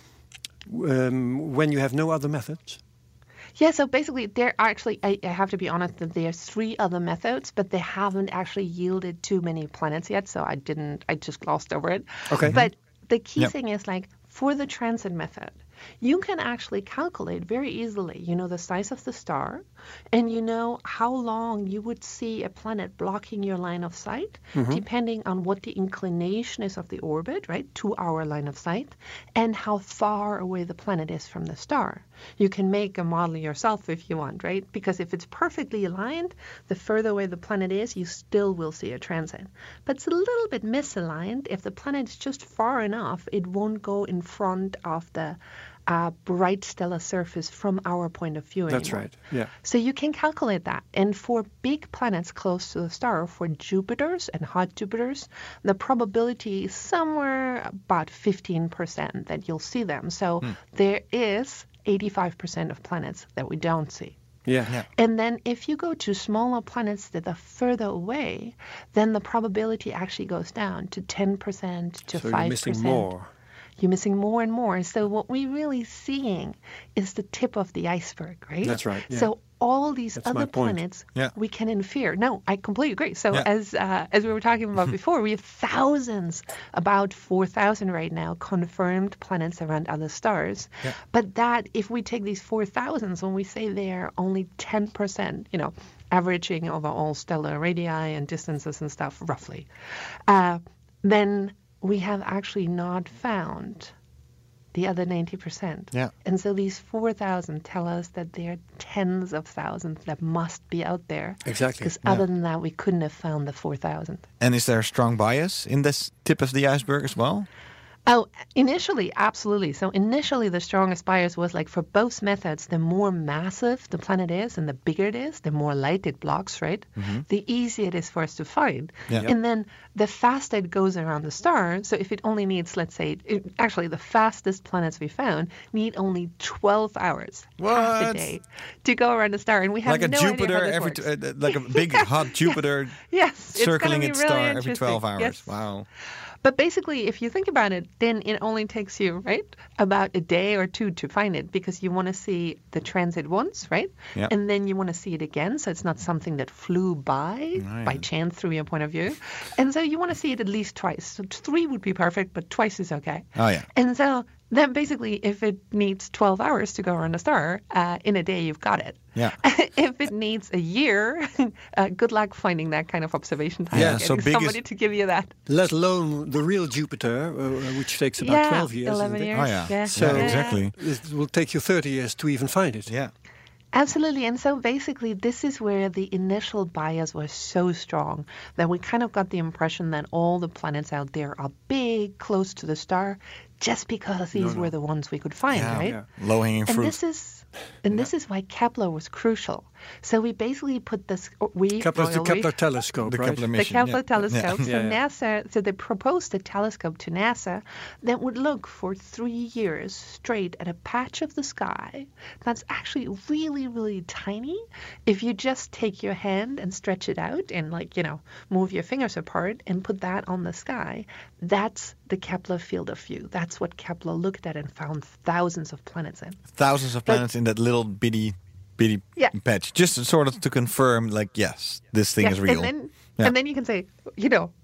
um, when you have no other methods? Yeah, so basically, there are actually, I, I have to be honest, that there's three other methods, but they haven't actually yielded too many planets yet, so I didn't, I just glossed over it. Okay. But the key Yep. thing is, like, for the transit method, you can actually calculate very easily, you know, the size of the star, and you know how long you would see a planet blocking your line of sight, depending on what the inclination is of the orbit, right, to our line of sight, and how far away the planet is from the star. You can make a model yourself if you want, right? Because if it's perfectly aligned, the further away the planet is, you still will see a transit. But it's a little bit misaligned. If the planet is just far enough, it won't go in front of the uh, bright stellar surface from our point of view That's anymore. right. Yeah. So you can calculate that. And for big planets close to the star, for Jupiters and hot Jupiters, the probability is somewhere about fifteen percent that you'll see them. So there is eighty-five percent of planets that we don't see. Yeah. Yeah. And then if you go to smaller planets that are further away, then the probability actually goes down to ten percent to So five percent. you're missing more. You're missing more and more. So what we're really seeing is the tip of the iceberg, right? That's right, yeah. So all these That's my other point. planets Yeah. we can infer. No, I completely agree. So Yeah. as uh, as we were talking about before, we have thousands, about four thousand right now, confirmed planets around other stars. Yeah. But that, if we take these four thousands, when we say they're only ten percent, you know, averaging over all stellar radii and distances and stuff, roughly, uh, then we have actually not found the other ninety percent. Yeah. And so these four thousand tell us that there are tens of thousands that must be out there. Exactly. Because other than that, we couldn't have found the four thousand. And is there a strong bias in this tip of the iceberg as well? Oh, initially, absolutely. So initially, the strongest bias was like for both methods, the more massive the planet is and the bigger it is, the more light it blocks, right? The easier it is for us to find. Yeah. And then the faster it goes around the star. So if it only needs, let's say, it, actually the fastest planets we found need only twelve hours, half a What? day, to go around the star. And we have Like a no idea Jupiter, how this every works. t- uh, like a big hot Jupiter Yes, it's gonna circling be its really star every interesting. twelve hours. Yes. Wow. But basically, if you think about it, then it only takes you, right, about a day or two to find it because you want to see the transit once, right? Yeah. And then you want to see it again. So it's not something that flew by Right. by chance through your point of view. And so you want to see it at least twice. So three would be perfect, but twice is okay. Oh, yeah. And so then basically, if it needs twelve hours to go around a star, uh, in a day you've got it. Yeah. If it needs a year, uh, good luck finding that kind of observation time. Yeah, getting so big is- somebody to give you that. Let alone the real Jupiter, uh, which takes about yeah, twelve years. eleven isn't it? years. Oh, yeah. yeah. So- Yeah, exactly. It will take you thirty years to even find it. Yeah. Absolutely. And so basically, this is where the initial bias was so strong that we kind of got the impression that all the planets out there are big, close to the star, just because these were the ones we could find, Yeah, right? yeah. Low hanging And fruit. this is and this is why Kepler was crucial. So we basically put this we Kepler's the royal we- Kepler telescope, the right? Kepler the mission. Kepler yeah. telescope. Yeah. So Yeah, yeah. NASA, so they proposed a telescope to NASA that would look for three years straight at a patch of the sky that's actually really, really tiny. If you just take your hand and stretch it out and, like, you know, move your fingers apart and put that on the sky, that's the Kepler field of view. That's what Kepler looked at and found thousands of planets in. Thousands of planets in that little bitty, bitty Yeah. patch. Just sort of to confirm, like, yes, this thing Yeah, is real. And then, Yeah. and then you can say, you know,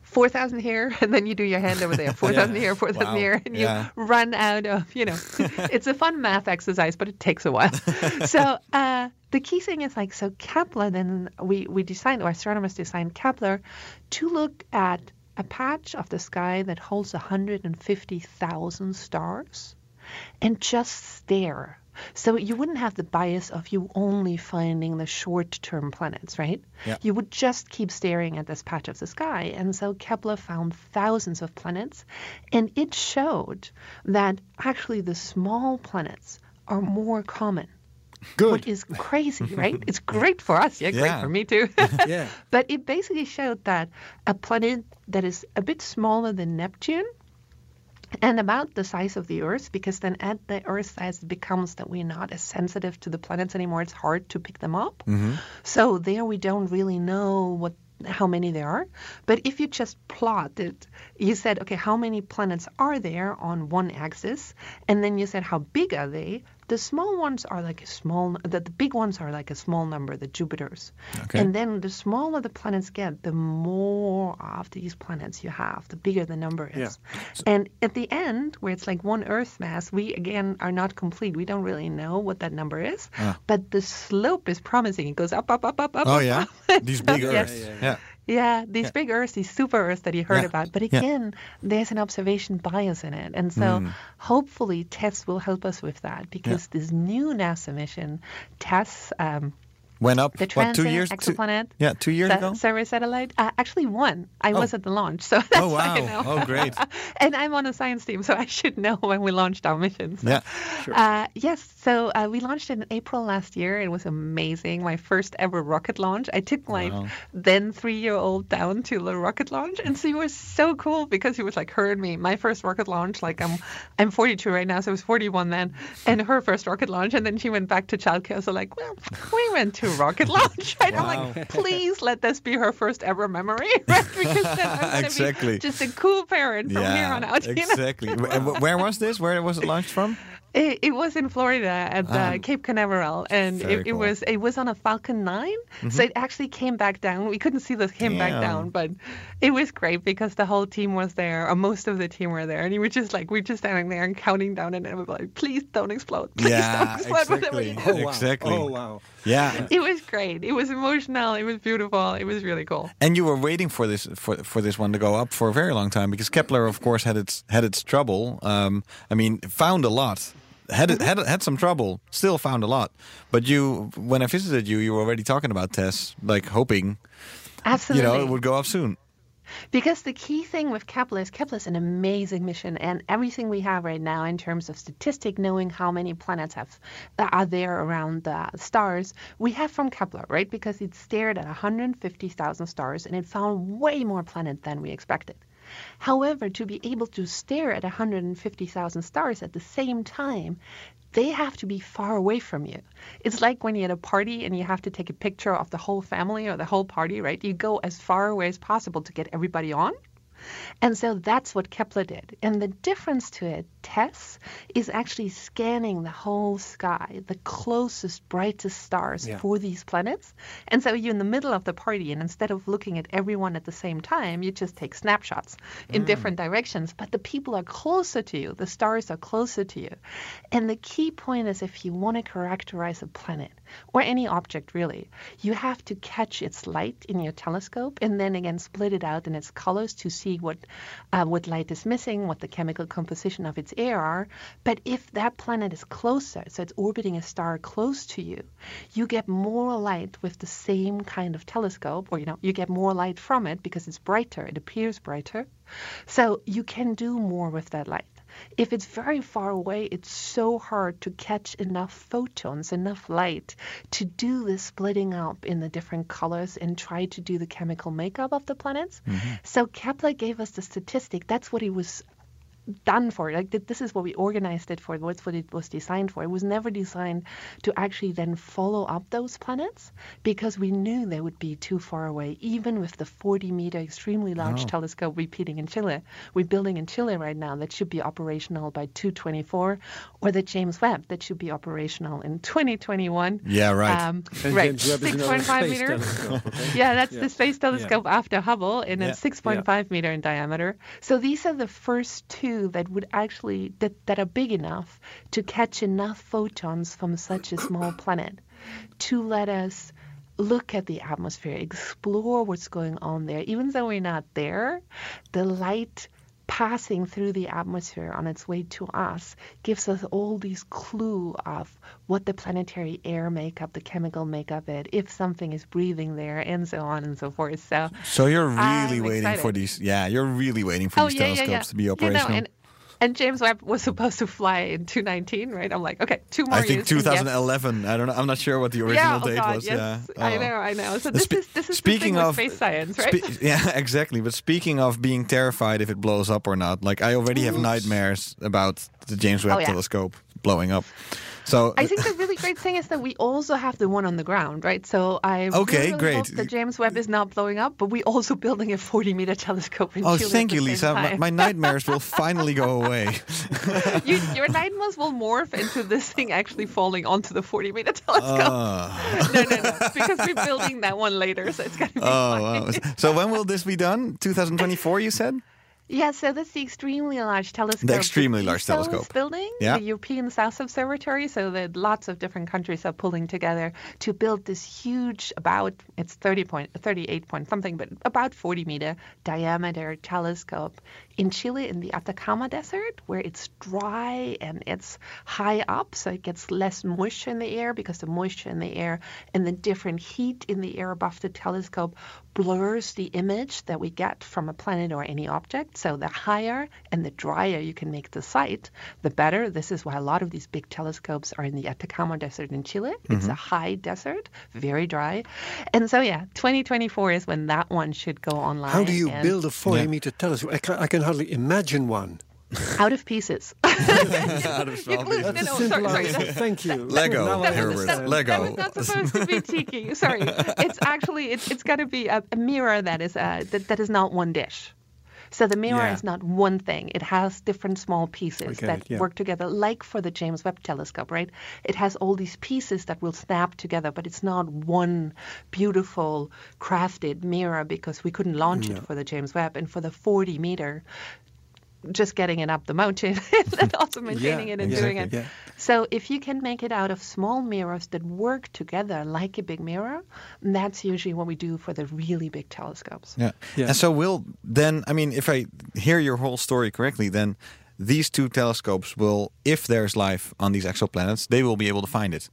four thousand here, and then you do your hand over there, four thousand Yeah. here, four thousand Wow. here, and you Yeah. run out of, you know, it's a fun math exercise, but it takes a while. so uh, the key thing is like, so Kepler, then we, we designed, or astronomers designed Kepler to look at a patch of the sky that holds one hundred fifty thousand stars and just stare. So you wouldn't have the bias of you only finding the short-term planets, right? Yeah. You would just keep staring at this patch of the sky. And so Kepler found thousands of planets, and it showed that actually the small planets are more common. Good. Which is crazy, right? It's great for us. Yeah, great Yeah. for me too. Yeah. But it basically showed that a planet that is a bit smaller than Neptune and about the size of the Earth, because then at the Earth size it becomes that we're not as sensitive to the planets anymore. It's hard to pick them up. Mm-hmm. So there we don't really know what how many there are. But if you just plot it, you said, okay, how many planets are there on one axis? And then you said, how big are they? The small ones are like a small, the, the big ones are like a small number, the Jupiters. Okay. And then the smaller the planets get, the more of these planets you have, the bigger the number is. Yeah. And at the end, where it's like one Earth mass, we again are not complete. We don't really know what that number is. Ah. But the slope is promising. It goes up, up, up, up, up. Oh up, yeah, up. these big Yes. Earths. Yeah, yeah, Yeah. Yeah, these big Earths, these super Earths that you heard Yeah. about. But Yeah. again, there's an observation bias in it. And so Mm. hopefully TESS will help us with that, because this new NASA mission, TESS, um, Went up the what two Transit years? Two, Exoplanet yeah, two years sa- ago. Survey Satellite, uh, actually one. I Oh. was at the launch, so that's Oh why I wow! know. Oh great! And I'm on a science team, so I should know when we launched our mission. So. Yeah. Uh, yes, so uh, we launched in April last year. It was amazing. My first ever rocket launch. I took my Wow. then three-year-old down to the rocket launch, and she was so cool because he was like her and me. My first rocket launch, like I'm, I'm forty-two right now, so I was forty-one then, and her first rocket launch, and then she went back to childcare. So like, well, we went to rocket launch. Right? I'm Wow. like, please let this be her first ever memory, right? Because then I'm gonna Exactly. be just a cool parent from here on out. you know? exactly. And wh- where was this? Where was it launched from? It, it was in Florida at uh, Ah. Cape Canaveral, and Very it, it cool. was it was on a Falcon nine, so it actually came back down. We couldn't see this came back Damn. down, but it was great because the whole team was there, or most of the team were there, and you were just like we were just standing there and counting down, and we were like, please don't explode, please Yeah, don't explode, whatever exactly. you do. Oh, wow. Exactly. Oh, wow. Yeah. It was great. It was emotional. It was beautiful. It was really cool. And you were waiting for this for for this one to go up for a very long time, because Kepler, of course, had its had its trouble. Um, I mean, found a lot. Had it, had had some trouble, still found a lot. But you, when I visited you, you were already talking about TESS, like hoping, Absolutely. you know, it would go up soon. Because the key thing with Kepler is Kepler is an amazing mission, and everything we have right now in terms of statistic, knowing how many planets have are there around the stars, we have from Kepler, right? Because it stared at one hundred fifty thousand stars, and it found way more planets than we expected. However, to be able to stare at one hundred fifty thousand stars at the same time, they have to be far away from you. It's like when you're at a party and you have to take a picture of the whole family or the whole party, right? You go as far away as possible to get everybody on. And so that's what Kepler did. And the difference to it, TESS, is actually scanning the whole sky, the closest, brightest stars Yeah. for these planets. And so you're in the middle of the party, and instead of looking at everyone at the same time, you just take snapshots in different directions. But the people are closer to you. The stars are closer to you. And the key point is, if you want to characterize a planet, or any object really, you have to catch its light in your telescope and then again split it out in its colors to see what uh, what light is missing, what the chemical composition of its air are. But if that planet is closer, so it's orbiting a star close to you, you get more light with the same kind of telescope, or you know, you get more light from it because it's brighter, it appears brighter. So you can do more with that light. If it's very far away, it's so hard to catch enough photons, enough light to do the splitting up in the different colors and try to do the chemical makeup of the planets. So Kepler gave us the statistic. That's what he was done for. Like th- this is what we organized it for. What's what it was designed for. It was never designed to actually then follow up those planets because we knew they would be too far away, even with the forty meter extremely large Oh. telescope repeating in Chile. We're building in Chile right now that should be operational by two twenty-four, or the James Webb that should be operational in twenty twenty-one. Yeah, right. Um, And right. James Webb is six another point five space meter. telescope, okay? Yeah, that's Yeah. the Space Telescope after Hubble, and Yeah. it's six point five meter in diameter. So these are the first two that would actually that, that are big enough to catch enough photons from such a small planet to let us look at the atmosphere, explore what's going on there. Even though we're not there, the light passing through the atmosphere on its way to us gives us all these clue of what the planetary air makeup, the chemical makeup it, if something is breathing there, and so on and so forth. So, So you're really I'm waiting for excited. these. Yeah, you're really waiting for oh these yeah, yeah, telescopes yeah. to be You operational. know, and, and James Webb was supposed to fly in two nineteen, right? I'm like, okay, two more I think years. and yes. twenty eleven. I don't know. I'm not sure what the original Yeah, oh date God, was. yes. Yeah, I Oh. know, I know. So Uh, this spe- is this is speaking the thing of with space science, right? Spe- yeah, exactly. But speaking of being terrified if it blows up or not, like I already have nightmares about the James Webb Oh, yeah. telescope blowing up. So I think the really great thing is that we also have the one on the ground, right? So I Okay, really, really great. hope that James Webb is not blowing up, but we're also building a forty meter telescope in oh, Chile. thank at you, the Lisa. same My, time. my nightmares will finally go away. you, your nightmares will morph into this thing actually falling onto the forty meter telescope. Oh, No, no, no, because we're building that one later, so it's going to be oh, fine. wow. So when will this be done? twenty twenty-four, you said? Yeah, so that's the extremely large telescope. The extremely large E S O 's telescope. building, Yeah. the European South Observatory. So that lots of different countries are pulling together to build this huge, about it's thirty point, thirty-eight point something, but about forty meter diameter telescope in Chile in the Atacama Desert, where it's dry and it's high up, so it gets less moisture in the air because the moisture in the air and the different heat in the air above the telescope blurs the image that we get from a planet or any object. So the higher and the drier you can make the sight, the better. This is why a lot of these big telescopes are in the Atacama Desert in Chile. It's a high desert, very dry. And so, yeah, twenty twenty-four is when that one should go online. How do you and build a forty Yeah. meter telescope? I can, I can hardly imagine one. out of pieces. Out of You small glued- pieces. That's no, a no, simple sorry, sorry, answer. that's- Thank you. Lego, Now I Herbert, understand. Lego. That was not supposed to be cheeky. Sorry. It's actually, it's, it's got to be a, a mirror that is uh, that, that is not one dish. So the mirror Yeah. is not one thing. It has different small pieces get that it, yeah. work together, like for the James Webb telescope, right? It has all these pieces that will snap together, but it's not one beautiful crafted mirror because we couldn't launch it for the James Webb. And for the forty meter, just getting it up the mountain and also maintaining Yeah, it and exactly, doing it. yeah. So if you can make it out of small mirrors that work together like a big mirror, that's usually what we do for the really big telescopes. Yeah. Yeah. And so will then, I mean, if I hear your whole story correctly, then these two telescopes will, if there's life on these exoplanets, they will be able to find it.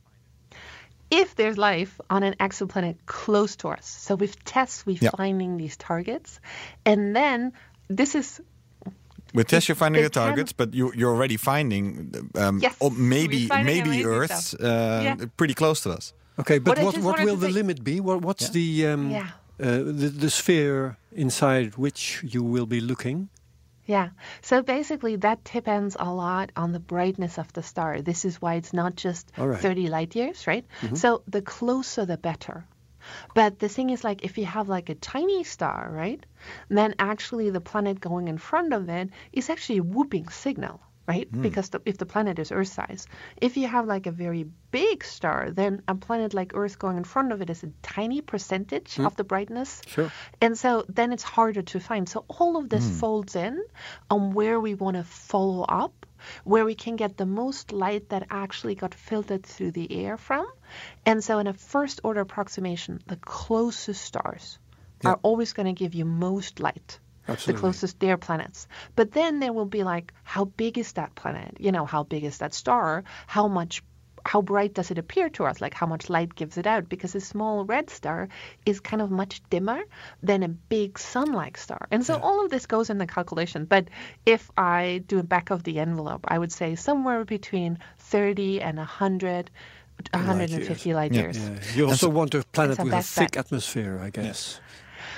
If there's life on an exoplanet close to us. So with tests, we're Yeah. finding these targets. And then this is With tests, you're finding they the targets, but you, you're already finding um, Yes, or we're maybe finding maybe amazing Earth's stuff. uh, Yeah. pretty close to us. Okay, but What I what just what wanted will to the say- limit be? What what's Yeah. the um Yeah. uh, the the sphere inside which you will be looking? Yeah. So basically, that depends a lot on the brightness of the star. This is why it's not just All right. thirty light years, right? So the closer, the better. But the thing is, like, if you have like a tiny star, right, then actually the planet going in front of it is actually a whooping signal, right? Because the, if the planet is Earth size, if you have like a very big star, then a planet like Earth going in front of it is a tiny percentage of the brightness. Sure. And so then it's harder to find. So all of this folds in on where we want to follow up, where we can get the most light that actually got filtered through the air from. And so in a first order approximation, the closest stars are always going to give you most light. Absolutely. The closest their planets. But then there will be like, how big is that planet? You know, how big is that star? How much how bright does it appear to us? Like how much light gives it out? Because a small red star is kind of much dimmer than a big sun-like star. And so all of this goes in the calculation. But if I do a back of the envelope, I would say somewhere between thirty and one hundred, one hundred fifty light Yeah. years. Yeah. You also want a planet our with a best thick bet. atmosphere, I guess.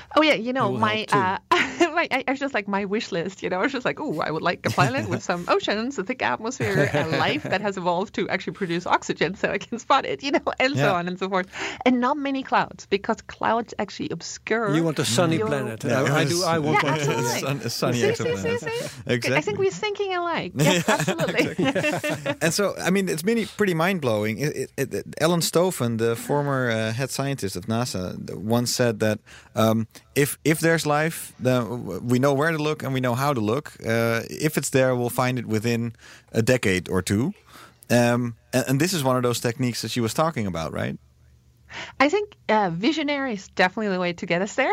Oh yeah, you know will my, help uh, my I, I was just like my wish list. You know, I was just like, oh, I would like a planet with some oceans, a thick atmosphere, and life that has evolved to actually produce oxygen, so I can spot it. You know, and Yeah. so on and so forth, and not many clouds because clouds actually obscure. You want a sunny your- planet. Yeah, I, I do. I want Yeah, one too. absolutely. Sun- a sunny See, see, see, exoplanet. see? Exactly. I think we're thinking alike. Yes, absolutely. And so, I mean, it's really pretty mind-blowing. It, it, it, Ellen Stoffen, the former uh, head scientist of NASA, once said that um, if if there's life, then we know where to look and we know how to look. Uh, if it's there, we'll find it within a decade or two. Um, and, and this is one of those techniques that she was talking about, right? I think uh, visionary is definitely the way to get us there.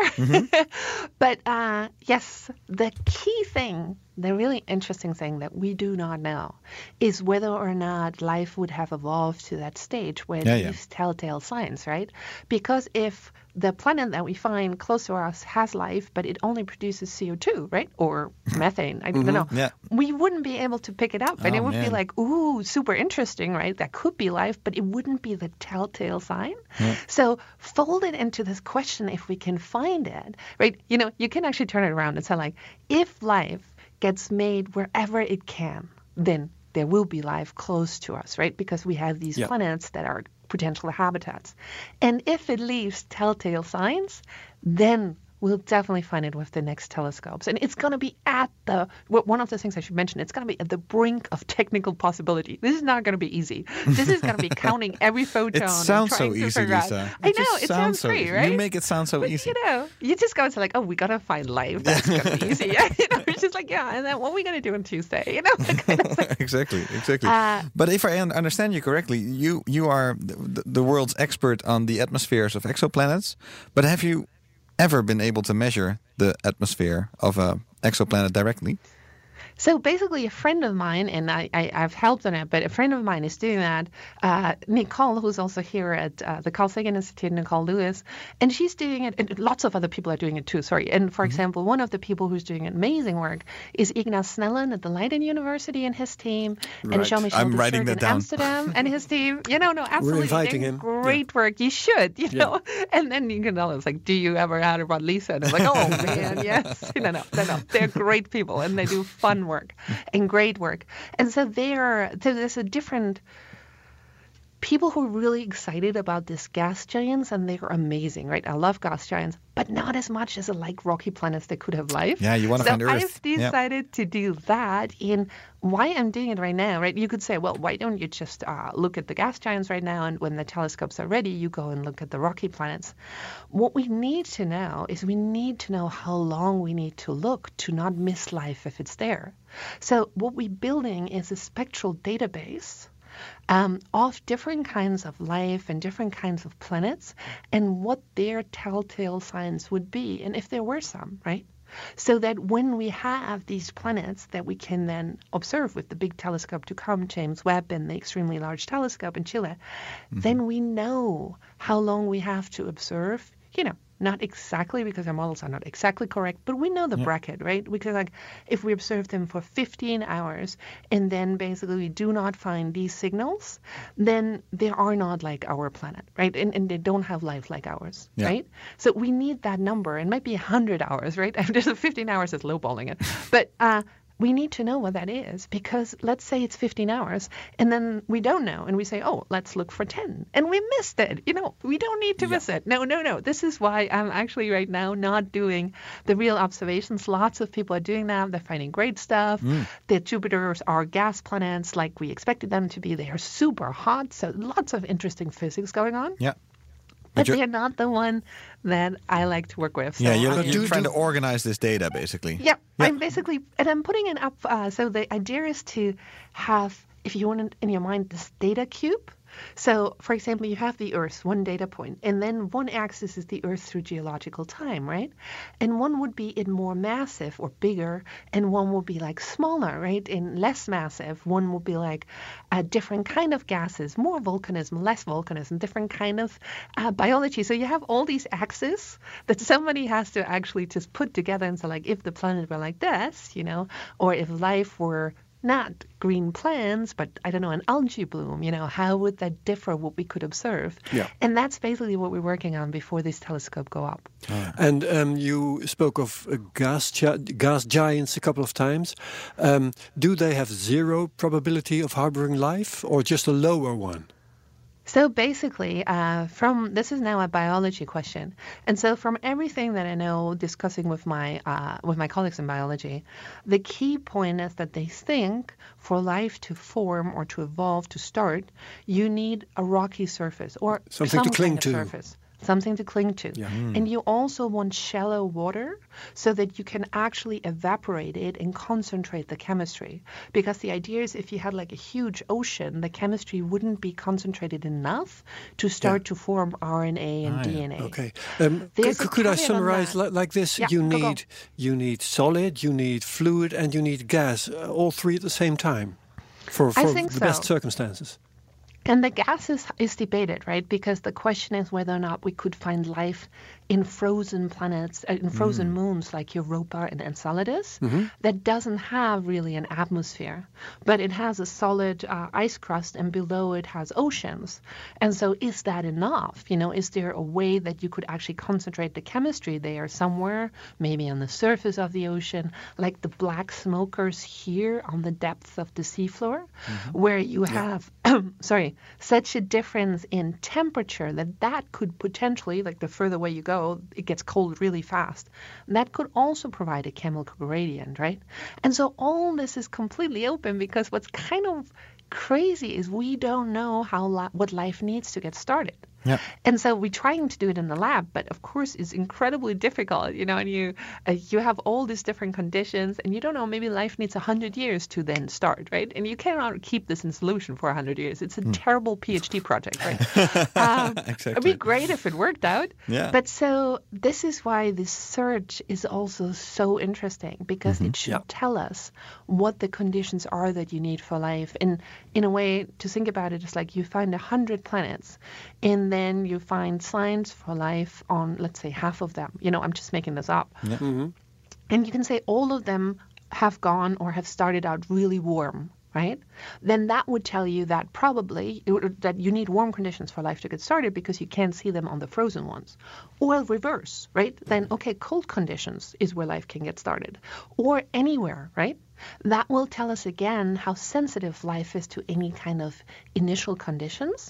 But uh, yes, the key thing, the really interesting thing that we do not know is whether or not life would have evolved to that stage where it Yeah, yeah. leaves telltale signs, right? Because if the planet that we find close to us has life, but it only produces C O two, right? Or methane, I don't know. Yeah. We wouldn't be able to pick it up. And Oh, it would be man. like, ooh, super interesting, right? That could be life, but it wouldn't be the telltale sign. So fold it into this question if we can find it, right? You know, you can actually turn it around and say like, if life gets made wherever it can, then there will be life close to us, right? Because we have these Yeah. planets that are potential habitats. And if it leaves telltale signs, then we'll definitely find it with the next telescopes. And it's going to be at the, well, one of the things I should mention, it's going to be at the brink of technical possibility. This is not going to be easy. This is going to be counting every photon. It and sounds so trying to easy, figure out- Lisa. I It know, just it sounds so great, easy. right? You make it sound so But, easy. you know, you just go to like, oh, we got to find life. That's going to be easy. Yeah, you know, it's just like, yeah, and then what are we going to do on Tuesday? You know, that kind of thing. Exactly, exactly. Uh, but if I un- understand you correctly, you you are the, the world's expert on the atmospheres of exoplanets. But have you ever been able to measure the atmosphere of a exoplanet directly? So basically, a friend of mine, and I, I, I've helped on it, but a friend of mine is doing that. Uh, Nicole, who's also here at uh, the Carl Sagan Institute, Nicole Lewis, and she's doing it, and lots of other people are doing it too, sorry. And for example, one of the people who's doing amazing work is Ignaz Snellen at the Leiden University and his team, and Right. Jean-Michel I'm writing Dussert that in down. Amsterdam and his team. You know, no, absolutely. inviting They're him. Great work. You should, you know. And then you can tell us, like, do you ever heard about Lisa? And I'm like, oh, man, yes. No, no, no, no. They're great people, and they do fun work. And great work. And so there, so there's a different people who are really excited about this gas giants, and they're amazing, right? I love gas giants, but not as much as I like rocky planets that could have life. Yeah, you wanna so find Earth. I've Yeah. decided to do that. In why I'm doing it right now, right? You could say, well, why don't you just uh, look at the gas giants right now, and when the telescopes are ready, you go and look at the rocky planets. What we need to know is we need to know how long we need to look to not miss life if it's there. So what we're building is a spectral database um, of different kinds of life and different kinds of planets and what their telltale signs would be, and if there were some, right? So that when we have these planets that we can then observe with the big telescope to come, James Webb and the extremely large telescope in Chile, then we know how long we have to observe, you know, not exactly because our models are not exactly correct, but we know the bracket, right? Because like if we observe them for fifteen hours and then basically we do not find these signals, then they are not like our planet, right? And, and they don't have life like ours, Yeah. right? So we need that number, and might be one hundred hours, right? Just fifteen hours is lowballing it. But uh, we need to know what that is, because let's say it's fifteen hours and then we don't know and we say, oh, let's look for ten and we missed it. You know, we don't need to miss it. No, no, no. This is why I'm actually right now not doing the real observations. Lots of people are doing that. They're finding great stuff. The Jupiters are gas planets like we expected them to be. They are super hot. So lots of interesting physics going on. Yeah. But you're- they're not the one that I like to work with. So Yeah, you're, I- you're do- trying do- to organize this data, basically. yeah, I'm basically, and I'm putting it up. Uh, so the idea is to have, if you want it in your mind, this data cube. So, for example, you have the Earth, one data point, and then one axis is the Earth through geological time, right? And one would be in more massive or bigger, and one would be like smaller, right? In less massive, one would be like a different kind of gases, more volcanism, less volcanism, different kind of uh, biology. So you have all these axes that somebody has to actually just put together and say, like, if the planet were like this, you know, or if life were not green plants, but I don't know, an algae bloom, you know, how would that differ what we could observe? Yeah. And that's basically what we're working on before this telescope go up. And um, you spoke of uh, gas gi- gas giants a couple of times. Um, do they have zero probability of harboring life, or just a lower one? So basically, uh, from this is now a biology question, and so from everything that I know, discussing with my uh, with my colleagues in biology, the key point is that they think for life to form or to evolve to start, you need a rocky surface or Something some to cling kind of to. surface. Something to cling to. Yeah. And you also want shallow water so that you can actually evaporate it and concentrate the chemistry. Because the idea is if you had like a huge ocean, the chemistry wouldn't be concentrated enough to start Yeah. to form R N A and Ah, D yeah. N A. Okay. Um, There's c- a could I caveat on summarize that. li- like this? Yeah, you go, go. need you need solid, you need fluid, and you need gas, uh, all three at the same time, for, I for think the so. best circumstances. And the gas is, is debated, right? Because the question is whether or not we could find life in frozen planets, uh, in frozen moons like Europa and Enceladus, that doesn't have really an atmosphere, but it has a solid uh, ice crust, and below it has oceans. And so is that enough? You know, is there a way that you could actually concentrate the chemistry there somewhere, maybe on the surface of the ocean, like the black smokers here on the depths of the seafloor, where you have, sorry, such a difference in temperature that that could potentially, like the further away you go, it gets cold really fast. That could also provide a chemical gradient, right? And so all this is completely open because what's kind of crazy is we don't know how li- what life needs to get started. Yeah. And so we're trying to do it in the lab, but of course it's incredibly difficult, you know, and you uh, you have all these different conditions and you don't know, maybe life needs one hundred years to then start, right? And you cannot keep this in solution for one hundred years. It's a terrible PhD project, right? um, Exactly. It'd be great if it worked out. Yeah. But so this is why this search is also so interesting because it should Yeah. tell us what the conditions are that you need for life. And in a way, to think about it, it's like you find one hundred planets and then you find signs for life on, let's say, half of them. You know, I'm just making this up. And you can say all of them have gone or have started out really warm, right? Then that would tell you that probably that you need warm conditions for life to get started because you can't see them on the frozen ones. Or reverse, right? Then, okay, cold conditions is where life can get started. Or anywhere, right? That will tell us again how sensitive life is to any kind of initial conditions.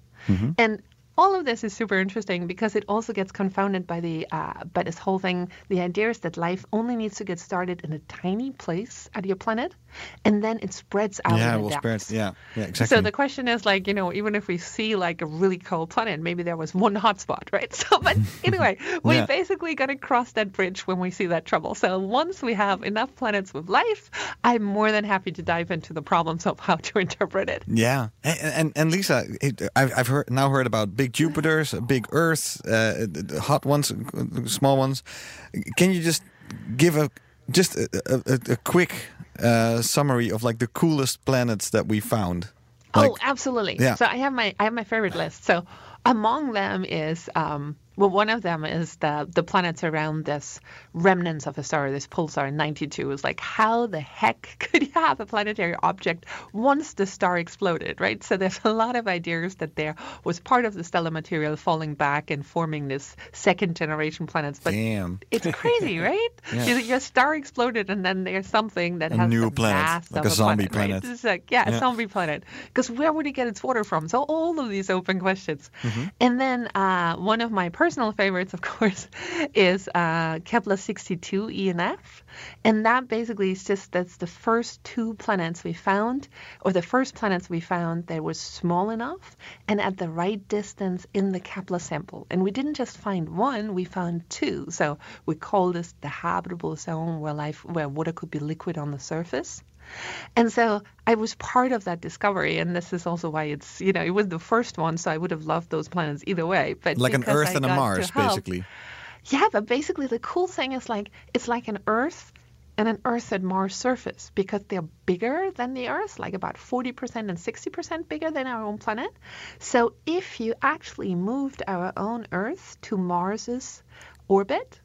And all of this is super interesting because it also gets confounded by the uh, by this whole thing. The idea is that life only needs to get started in a tiny place at your planet, and then it spreads out. Yeah, in the we'll spread. depths. Yeah, yeah, exactly. So the question is, like, you know, even if we see like a really cold planet, maybe there was one hotspot, right? So, but anyway, we're Yeah. basically going to cross that bridge when we see that trouble. So once we have enough planets with life, I'm more than happy to dive into the problems of how to interpret it. Yeah, and and, and Lisa, it, I've I've heard now heard about big Jupiters, big Earths, uh, the- the hot ones, uh, small ones. Can you just give a just a, a, a quick uh, summary of like the coolest planets that we found? Oh, Like- absolutely. Yeah. So I have my I have my favorite list. So among them is um, well, one of them is the the planets around this remnants of a star, this pulsar in ninety-two. Is like, how the heck could you have a planetary object once the star exploded, right? So there's a lot of ideas that there was part of the stellar material falling back and forming this second generation planets. But Damn. it's crazy, right? Yeah. Your, your star exploded, and then there's something that A has new the planet, mass like of a zombie right? planet. It's like, yeah, Yeah. a zombie planet. Because where would it get its water from? So all of these open questions. And then uh, one of my personal favorites, of course, is uh, Kepler sixty-two E and F. And that basically is just, that's the first two planets we found, or the first planets we found that was small enough and at the right distance in the Kepler sample. And we didn't just find one, we found two. So we call this the habitable zone where life, where water could be liquid on the surface. And so I was part of that discovery, and this is also why it's, you know, it was the first one, so I would have loved those planets either way. But Like an because Earth I and a got to Mars, help- basically. Yeah, but basically the cool thing is like, it's like an Earth and an Earth and Mars surface because they're bigger than the Earth, like about forty percent and sixty percent bigger than our own planet. So if you actually moved our own Earth to Mars's orbit,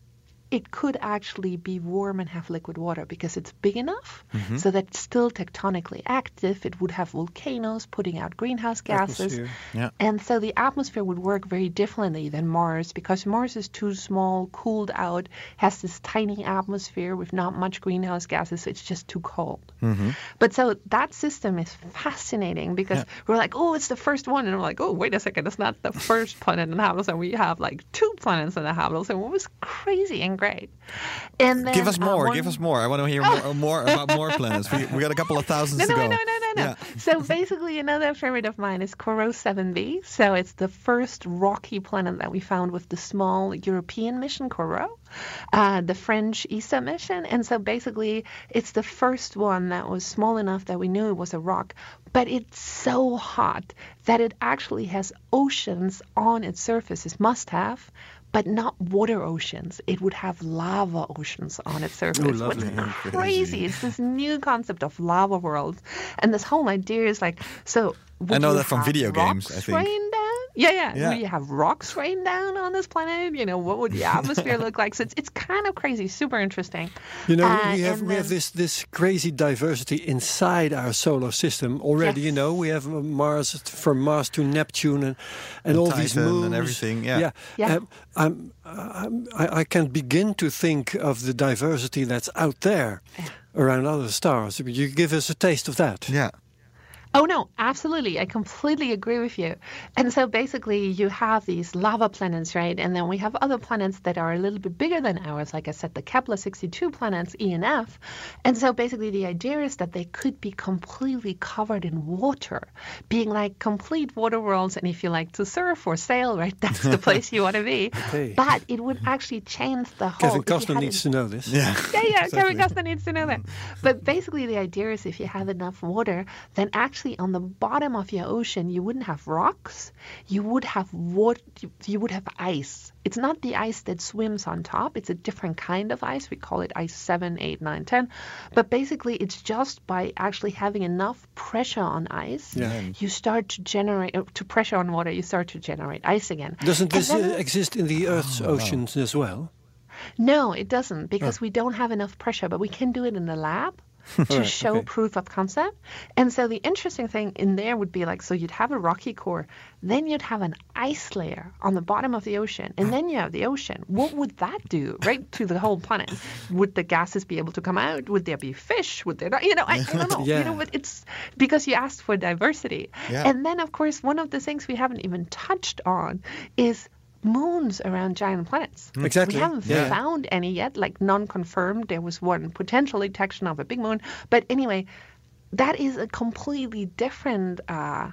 it could actually be warm and have liquid water because it's big enough Mm-hmm. so that it's still tectonically active. It would have volcanoes putting out greenhouse gases. Atmosphere. Yeah. And so the atmosphere would work very differently than Mars because Mars is too small, cooled out, has this tiny atmosphere with not much greenhouse gases. So it's just too cold. Mm-hmm. But so that system is fascinating because Yeah. we're like, oh, it's the first one. And we're like, oh, wait a second. It's not the first planet inhabitable. And we have like two planets inhabitable. So it was crazy and great. And then, Give us uh, more. one- Give us more. I want to hear more, more about more planets. We, we got a couple of thousands No, to no, go. no, no, no, no. Yeah. So basically, another favorite of mine is Corot seven b. So it's the first rocky planet that we found with the small European mission, Corot, uh, the French E S A mission. And so basically, it's the first one that was small enough that we knew it was a rock. But it's so hot that it actually has oceans on its surface. It must have. But not water oceans. It would have lava oceans on its surface. Oh, What's lovely. crazy. It's this new concept of lava worlds. And this whole idea is like, so would I know you that from have video games, I rocks think. rain down? Yeah, yeah. Yeah. Would you have rocks rain down on this planet? You know, what would the atmosphere look like? So it's, it's kind of crazy, super interesting. You know, Uh, we have and we have then- this this crazy diversity inside our solar system already. Yes. You know, we have uh, Mars from Mars to Neptune and and, all these Titan and moons everything, yeah. yeah. Yeah. Um, I'm, I'm, I, I can't begin to think of the diversity that's out there around other stars. You give us a taste of that. Yeah. Oh, no, absolutely. I completely agree with you. And so basically you have these lava planets, right? And then we have other planets that are a little bit bigger than ours. Like I said, the Kepler sixty-two planets, E and F. And so basically the idea is that they could be completely covered in water, being like complete water worlds. And if you like to surf or sail, right, that's the place you want to be. Okay. But it would actually change the whole... Kevin if you Costner had needs an- to know this. Yeah. yeah, yeah, Exactly. Kevin Costner needs to know that. But basically the idea is if you have enough water, then actually on the bottom of your ocean, you wouldn't have rocks. You would have water. You, you would have ice. It's not the ice that swims on top. It's a different kind of ice. We call it ice seven, eight, nine, ten. But basically, it's just by actually having enough pressure on ice, Yeah. you start to generate, uh, to pressure on water, you start to generate ice again. Doesn't And this then- uh, exist in the Earth's oceans as well? No, it doesn't because we don't have enough pressure, but we can do it in the lab to Alright, show okay. proof of concept. And so the interesting thing in there would be like, so you'd have a rocky core, then you'd have an ice layer on the bottom of the ocean, and then you have the ocean. What would that do, right, to the whole planet? Would the gases be able to come out? Would there be fish? Would there not? You know, I, I don't know. Yeah. You know, but it's because you asked for diversity. Yeah. And then, of course, one of the things we haven't even touched on is moons around giant planets. Exactly. We haven't Yeah. found any yet, like non-confirmed. There was one potential detection of a big moon. But anyway, that is a completely different, uh,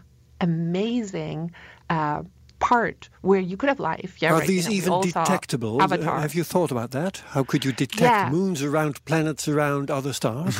amazing uh, part where you could have life. Yeah, Are right, these you know, we even all saw detectable? Uh, Avatar. Have you thought about that? How could you detect Yeah. moons around planets around other stars?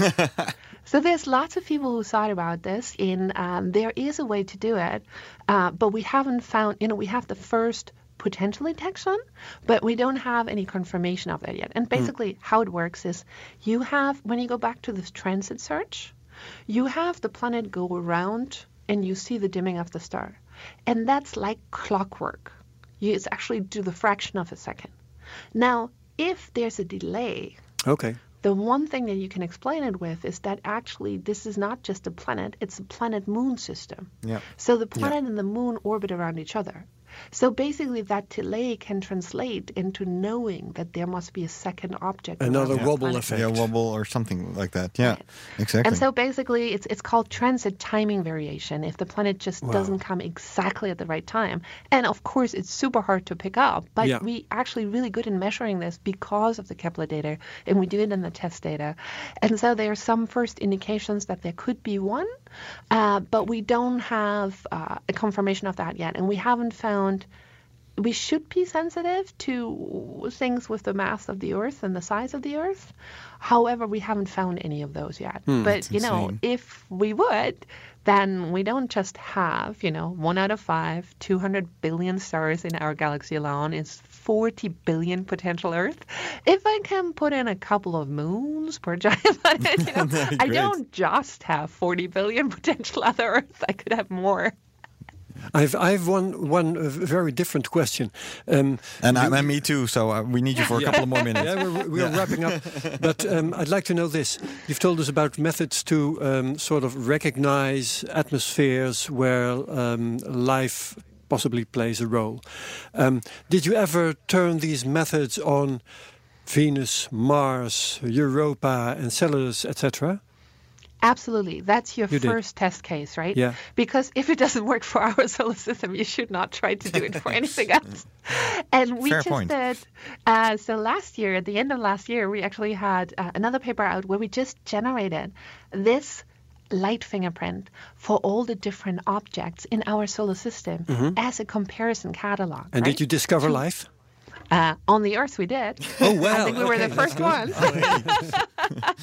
So there's lots of people who thought about this, and um, there is a way to do it, uh, but we haven't found, you know, we have the first potential detection, but we don't have any confirmation of that yet. And basically how it works is you have, when you go back to this transit search, you have the planet go around and you see the dimming of the star. And that's like clockwork. You, it's actually to the fraction of a second. Now, if there's a delay, Okay. the one thing that you can explain it with is that actually this is not just a planet, it's a planet-moon system. Yeah. So the planet and the moon orbit around each other. So basically that delay can translate into knowing that there must be a second object. around Another that wobble planet. effect. Yeah, wobble or something like that. Yeah, exactly. And so basically it's it's called transit timing variation if the planet just doesn't come exactly at the right time. And of course it's super hard to pick up, but Yeah. we actually really good in measuring this because of the Kepler data, and we do it in the test data. And so there are some first indications that there could be one, uh, but we don't have uh, a confirmation of that yet. And we haven't found we should be sensitive to things with the mass of the Earth and the size of the Earth. However, we haven't found any of those yet. but, you know, insane. if we would, then we don't just have, you know, one out of five, two hundred billion stars in our galaxy alone is forty billion potential Earth. If I can put in a couple of moons per giant planet, you know, That'd be I great. don't just have forty billion potential other Earth. I could have more. I've I've one one uh, very different question. Um, And, you- I, and me too, so uh, we need you for a couple of more minutes. Yeah, we're, we're Yeah. wrapping up. But um, I'd like to know this. You've told us about methods to um, sort of recognize atmospheres where um, life possibly plays a role. Um, did you ever turn these methods on Venus, Mars, Europa, Enceladus, et cetera? Absolutely. That's your You did. first test case, right? Yeah. Because if it doesn't work for our solar system, you should not try to do it for anything else. And we Fair just point. did. Uh, so last year, at the end of last year, we actually had uh, another paper out where we just generated this light fingerprint for all the different objects in our solar system as a comparison catalog. Mm-hmm. And right? did you discover life? Uh, on the Earth, we did. Oh, well. I think we were okay, the that's first good. ones.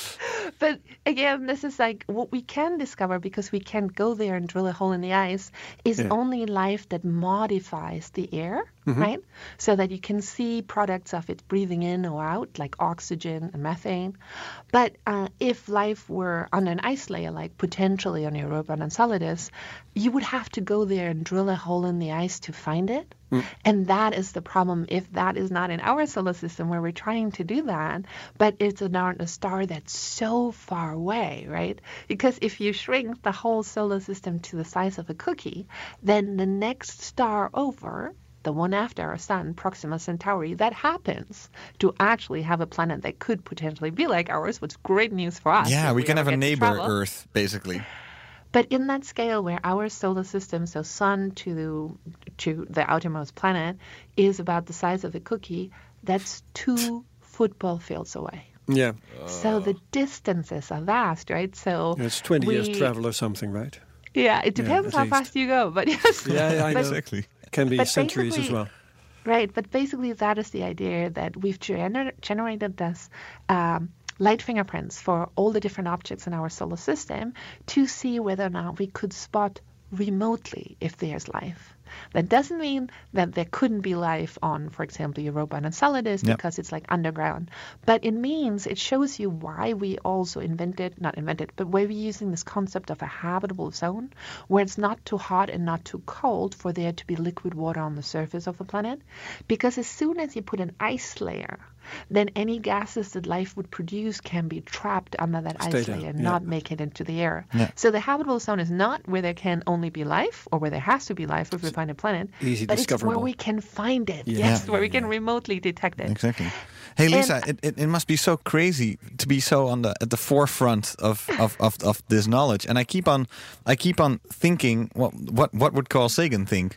But again, this is like what we can discover because we can go there and drill a hole in the ice is Yeah. only life that modifies the air, right? So that you can see products of it breathing in or out, like oxygen and methane. But uh, if life were on an ice layer, like potentially on Europa and Enceladus, you would have to go there and drill a hole in the ice to find it. And that is the problem if that is not in our solar system where we're trying to do that, but it's not a star that's so far away, right? Because if you shrink the whole solar system to the size of a cookie, then the next star over, the one after our sun, Proxima Centauri, that happens to actually have a planet that could potentially be like ours, which is great news for us. Yeah, if we can ever have a get to neighbor travel. Earth, basically. But in that scale where our solar system, so sun to the, to the outermost planet, is about the size of a cookie, that's two football fields away. Yeah, So the distances are vast, right? So it's twenty we, years travel or something, right? Yeah, it depends at how least. fast you go, but yes. Yeah, yeah, I But- know. Exactly. Can be But centuries as basically- well. Right, but basically that is the idea that we've gener- generated this um, light fingerprints for all the different objects in our solar system to see whether or not we could spot remotely if there's life. That doesn't mean that there couldn't be life on, for example, Europa and Enceladus Yep. because it's like underground. But it means, it shows you why we also invented, not invented, but why we're using this concept of a habitable zone where it's not too hot and not too cold for there to be liquid water on the surface of the planet. Because as soon as you put an ice layer, then any gases that life would produce can be trapped under that Stay ice there, layer and yeah. not make it into the air. Yeah. So the habitable zone is not where there can only be life or where there has to be life if we find a planet, Easy but it's where discoverable. we can find it. Yeah. Yes, Yeah. where we can remotely detect it. Exactly. Hey Lisa, it, it, it must be so crazy to be so on the at the forefront of, of, of, of this knowledge. And I keep on I keep on thinking what what what would Carl Sagan think?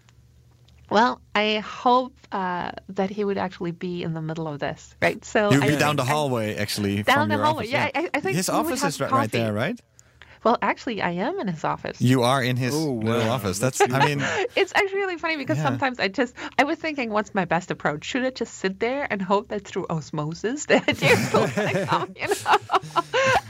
Well, I hope uh, that he would actually be in the middle of this, right? So You'd I be think down the I- hallway actually Down from the your hallway, office. yeah, I- I think his we would office have is right, right coffee. there, right? Well, actually, I am in his office. You are in his Oh, little wow. office. That's I mean It's actually really funny because Yeah. sometimes I just, I was thinking, what's my best approach? Should I just sit there and hope that through osmosis the ideas will kinda come, you know?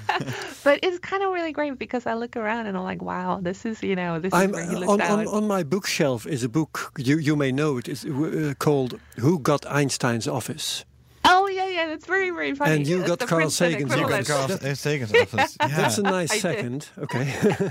But it's kind of really great because I look around and I'm like, wow, this is, you know, this I'm is where he uh, looked on, out. on on my bookshelf is a book you you may know it is uh, called "Who Got Einstein's Office." Oh, yeah, yeah, that's very, very funny. And you It's got the Carl Princeton Sagan's you got equivalent. Carl Sagan's office. Yeah. That's a nice I did. second. Okay.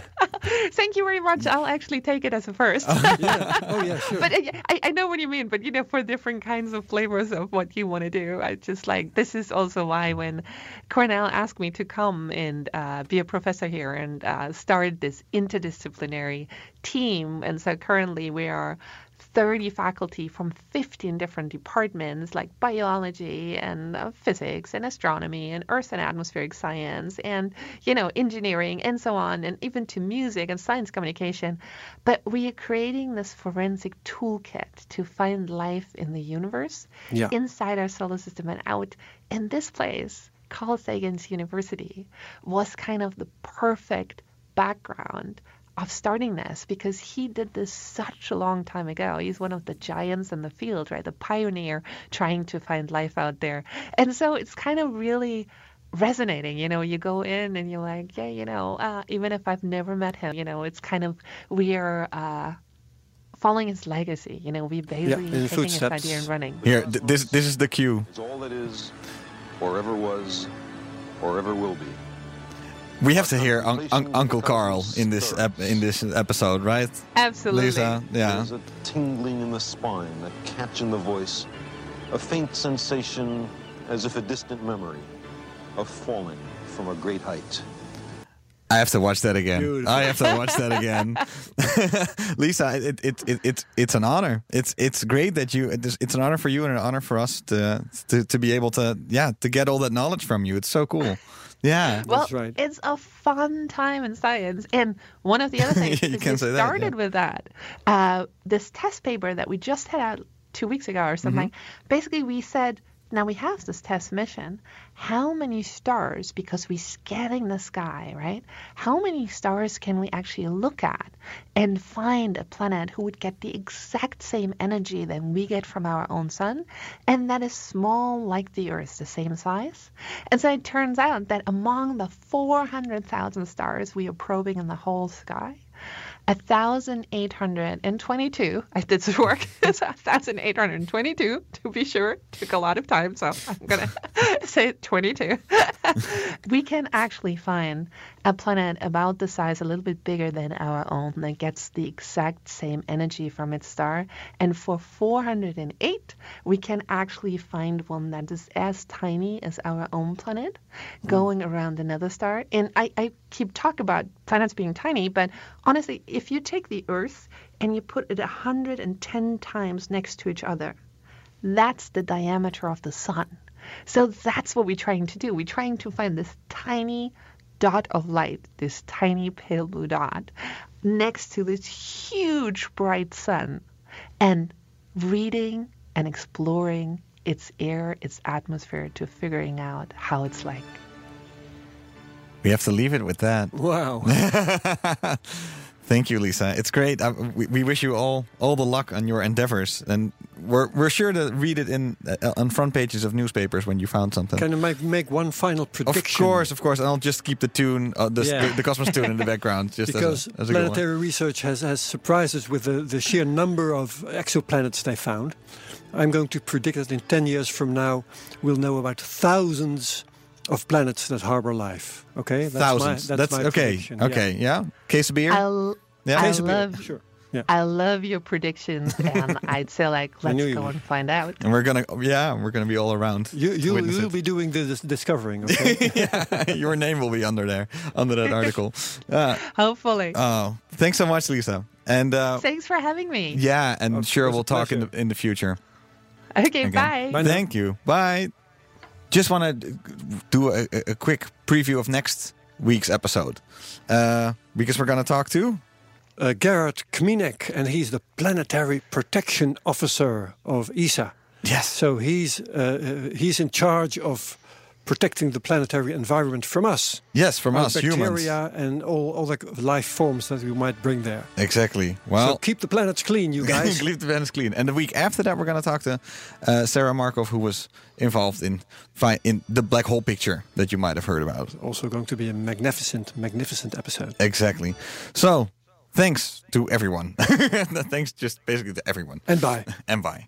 Thank you very much. I'll actually take it as a first. yeah. Oh yeah, sure. But uh, I, I know what you mean, but you know, for different kinds of flavors of what you want to do, I just like, this is also why when Cornell asked me to come and uh, be a professor here and uh, start this interdisciplinary team. And so currently we are thirty faculty from fifteen different departments like biology and uh, physics and astronomy and earth and atmospheric science and, you know, engineering and so on, and even to music and science communication. But we are creating this forensic toolkit to find life in the universe, Yeah. inside our solar system and out. And this place, Carl Sagan's University, was kind of the perfect background of starting this because he did this such a long time ago. He's one of the giants in the field, right? The pioneer trying to find life out there. And so it's kind of really resonating. You know, you go in and you're like, yeah, you know, uh, even if I've never met him, you know, it's kind of, we are uh, following his legacy. You know, we basically in taking his footsteps. idea and running. Here, th- this this is the cue. Is all that is, or ever was, or ever will be. We have to hear un- un- Uncle Carl in this ep- in this episode, right? Absolutely. Lisa, yeah. There's a tingling in the spine, a catch in the voice, a faint sensation as if a distant memory of falling from a great height. I have to watch that again. Beautiful. I have to watch that again. Lisa, it, it, it, it, it's an honor. It's it's great that you, it's, it's an honor for you and an honor for us to, to, to be able to, yeah, to get all that knowledge from you. It's so cool. Yeah. Well, That's right. it's a fun time in science. And one of the other things, You is can we say that, started yeah. with that. Uh, this test paper that we just had out two weeks ago or something, Mm-hmm. basically we said, now we have this test mission. How many stars, because we're scanning the sky, right? How many stars can we actually look at and find a planet who would get the exact same energy that we get from our own sun, and that is small like the Earth, the same size? And so it turns out that among the four hundred thousand stars we are probing in the whole sky, one thousand eight hundred twenty-two, I did some work, it's one thousand eight hundred twenty-two to be sure, took a lot of time, so I'm going to say twenty-two. We can actually find a planet about the size, a little bit bigger than our own, that gets the exact same energy from its star. And for four hundred eight, we can actually find one that is as tiny as our own planet, going around another star. And I, I keep talking about planets being tiny, but honestly, if you take the Earth and you put it one hundred ten times next to each other, that's the diameter of the sun. So that's what we're trying to do. We're trying to find this tiny dot of light, this tiny pale blue dot, next to this huge bright sun, and reading and exploring its air, its atmosphere, to figuring out how it's like. We have to leave it with that. Wow. Thank you, Lisa. It's great. Uh, we, we wish you all all the luck on your endeavors, and we're we're sure to read it in uh, on front pages of newspapers when you found something. Can I make, make one final prediction? Of course, of course, and I'll just keep the tune, uh, the, Yeah. the the Cosmos tune in the background, just Because as a, as a good one. planetary research has, has surprised us with the, the sheer number of exoplanets they found. I'm going to predict that in ten years from now, we'll know about thousands of planets that harbor life. Okay, that's Thousands. My, that's, my okay. prediction. Okay, yeah. Case of beer. I'll, Yeah. I Case of beer, love sure. Yeah. I love your predictions, and I'd say, like, I let's knew you go would. and find out. And we're gonna, yeah, we're gonna be all around. You to you witness you'll it. be doing the dis- discovering. Okay. Yeah, your name will be under there, under that article. Uh, Hopefully. oh, thanks so much, Lisa. And uh, Thanks for having me. yeah, and Of sure course, we'll a talk in pleasure. the in the future. Okay, Again. bye. Bye now. Thank you. Bye. Just want to do a, a, a quick preview of next week's episode, uh, because we're gonna talk to. Uh, Gerard Kminek, and he's the Planetary Protection Officer of E S A. Yes. So he's uh, uh, he's in charge of protecting the planetary environment from us. Yes, from Our us humans. bacteria and all other life forms that we might bring there. Exactly. So Well, keep the planets clean, you guys. leave the planets clean. And the week after that, we're going to talk to uh, Sarah Markov, who was involved in fi- in the black hole picture that you might have heard about. Also going to be a magnificent, magnificent episode. Exactly. So, thanks to everyone. Thanks just basically to everyone. And bye. En bye.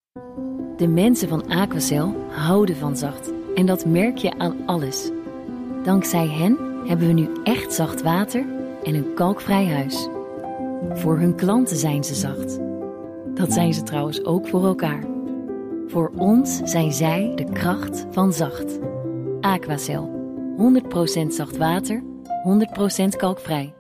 De mensen van Aquacel houden van zacht. En dat merk je aan alles. Dankzij hen hebben we nu echt zacht water en een kalkvrij huis. Voor hun klanten zijn ze zacht. Dat zijn ze trouwens ook voor elkaar. Voor ons zijn zij de kracht van zacht. Aquacel. honderd procent zacht water, honderd procent kalkvrij.